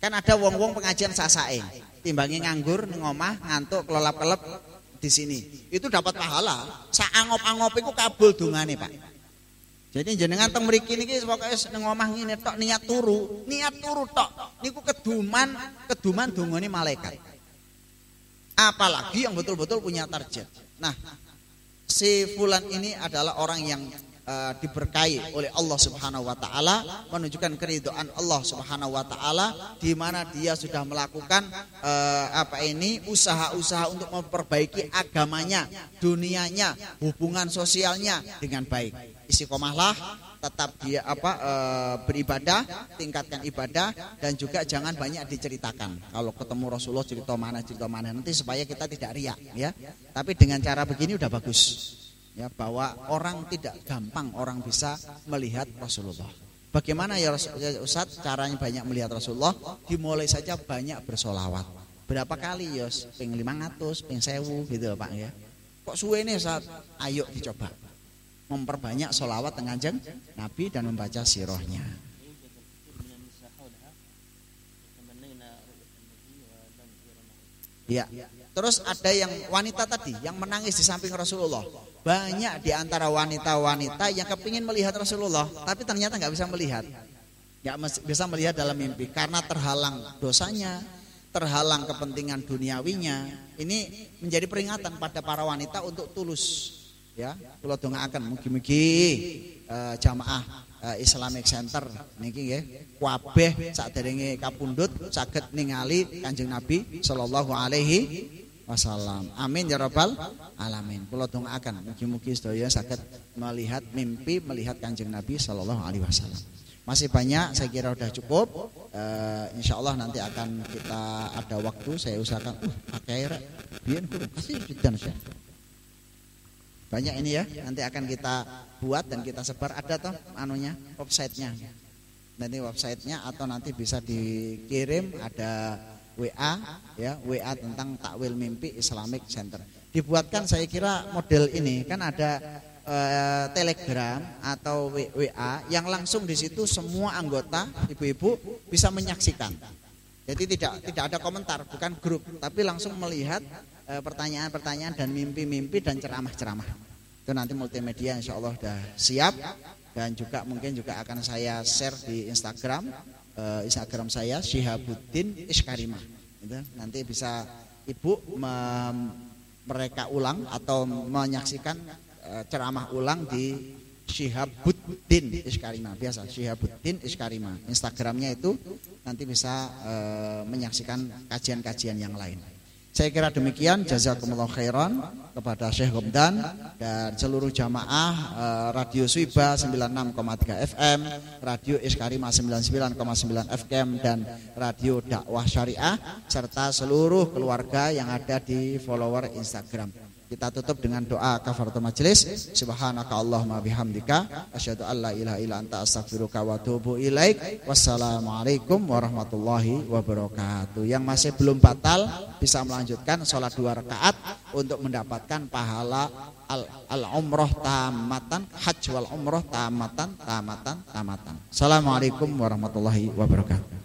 Kan ada wong-wong pengajian sasake, timbangi nganggur ning omah ngantuk kelelap-kelep di sini. Itu dapat pahala. Sak angop-angop iku kabul dongane, Pak. Jadi jenengan teng mriki niki pokoke ning omah ngene tok niat turu, niat turu tok niku keduman, keduman dongane malaikat. Apalagi yang betul-betul punya target. Nah, si fulan ini adalah orang yang Uh, diberkahi oleh Allah Subhanahu wa taala, menunjukkan keridhaan Allah Subhanahu wa taala di mana dia sudah melakukan uh, apa ini usaha-usaha untuk memperbaiki agamanya, dunianya, hubungan sosialnya dengan baik. Istiqomahlah, tetap dia apa uh, beribadah, tingkatkan ibadah dan juga jangan banyak diceritakan. Kalau ketemu Rasulullah cerita mana cerita mana nanti supaya kita tidak riak ya. Tapi dengan cara begini udah bagus. Ya, bahwa orang tidak gampang orang bisa melihat Rasulullah. Bagaimana ya Ustaz caranya banyak melihat Rasulullah? Dimulai saja banyak bersolawat. Berapa kali ya? Ping lima ratus, ping sewu gitu Pak ya. Kok suwe nih Ustaz? Ayo dicoba. Memperbanyak solawat Kanjeng Nabi dan membaca sirahnya. Ya. Terus ada yang wanita tadi yang menangis di samping Rasulullah. Banyak di antara wanita-wanita yang kepingin melihat Rasulullah, tapi ternyata nggak bisa melihat, nggak bisa melihat dalam mimpi karena terhalang dosanya, terhalang kepentingan duniawinya. Ini menjadi peringatan pada para wanita untuk tulus, ya. Kula dongaaken mugi-mugi uh, jamaah uh, Islamic Center niki nggih, kabeh saderenge kapundhut saged ningali Kanjeng Nabi sallallahu alaihi wasallam. Amin ya rabbal alamin. Kula dongaaken mugi-mugi sedaya saged melihat mimpi melihat Kanjeng Nabi sallallahu alaihi wasallam. Masih banyak, saya kira sudah cukup. Uh, insyaallah nanti akan kita ada waktu saya usahakan uh pakai rek biyen kudu kasih dan banyak ini ya. Nanti akan kita buat dan kita sebar, ada toh anunya, websitenya. Nanti websitenya atau nanti bisa dikirim ada W A ya, W A tentang takwil mimpi Islamic Center. Dibuatkan saya kira model ini kan ada eh, Telegram atau W A yang langsung di situ semua anggota ibu-ibu bisa menyaksikan. Jadi tidak tidak ada komentar, bukan grup, tapi langsung melihat eh, pertanyaan-pertanyaan dan mimpi-mimpi dan ceramah-ceramah. Itu nanti multimedia insya Allah sudah siap dan juga mungkin juga akan saya share di Instagram. Uh, Instagram saya Syihabuddin Iskarima. Gitu. Nanti bisa ibu mem- mereka ulang atau menyaksikan uh, ceramah ulang di Syihabuddin Iskarima. Biasa Syihabuddin Iskarima. Instagramnya itu nanti bisa uh, menyaksikan kajian-kajian yang lain. Saya kira demikian. Jazakumullah khairan kepada Syekh Gomdan dan seluruh jamaah eh, Radio Swiba sembilan puluh enam koma tiga F M, Radio Iskarima sembilan puluh sembilan koma sembilan F M dan Radio Dakwah Syariah serta seluruh keluarga yang ada di follower Instagram. Kita tutup dengan doa kafaratul majelis. Subhanaka Allahumma bihamdika asyhadu an la ilaha illa anta astaghfiruka wa atubu ilaik. Wassalamualaikum warahmatullahi wabarakatuh. Yang masih belum batal bisa melanjutkan sholat dua rakaat untuk mendapatkan pahala al, al umroh tamatan, hajj wal umroh tamatan tamatan tamatan. Assalamualaikum warahmatullahi wabarakatuh.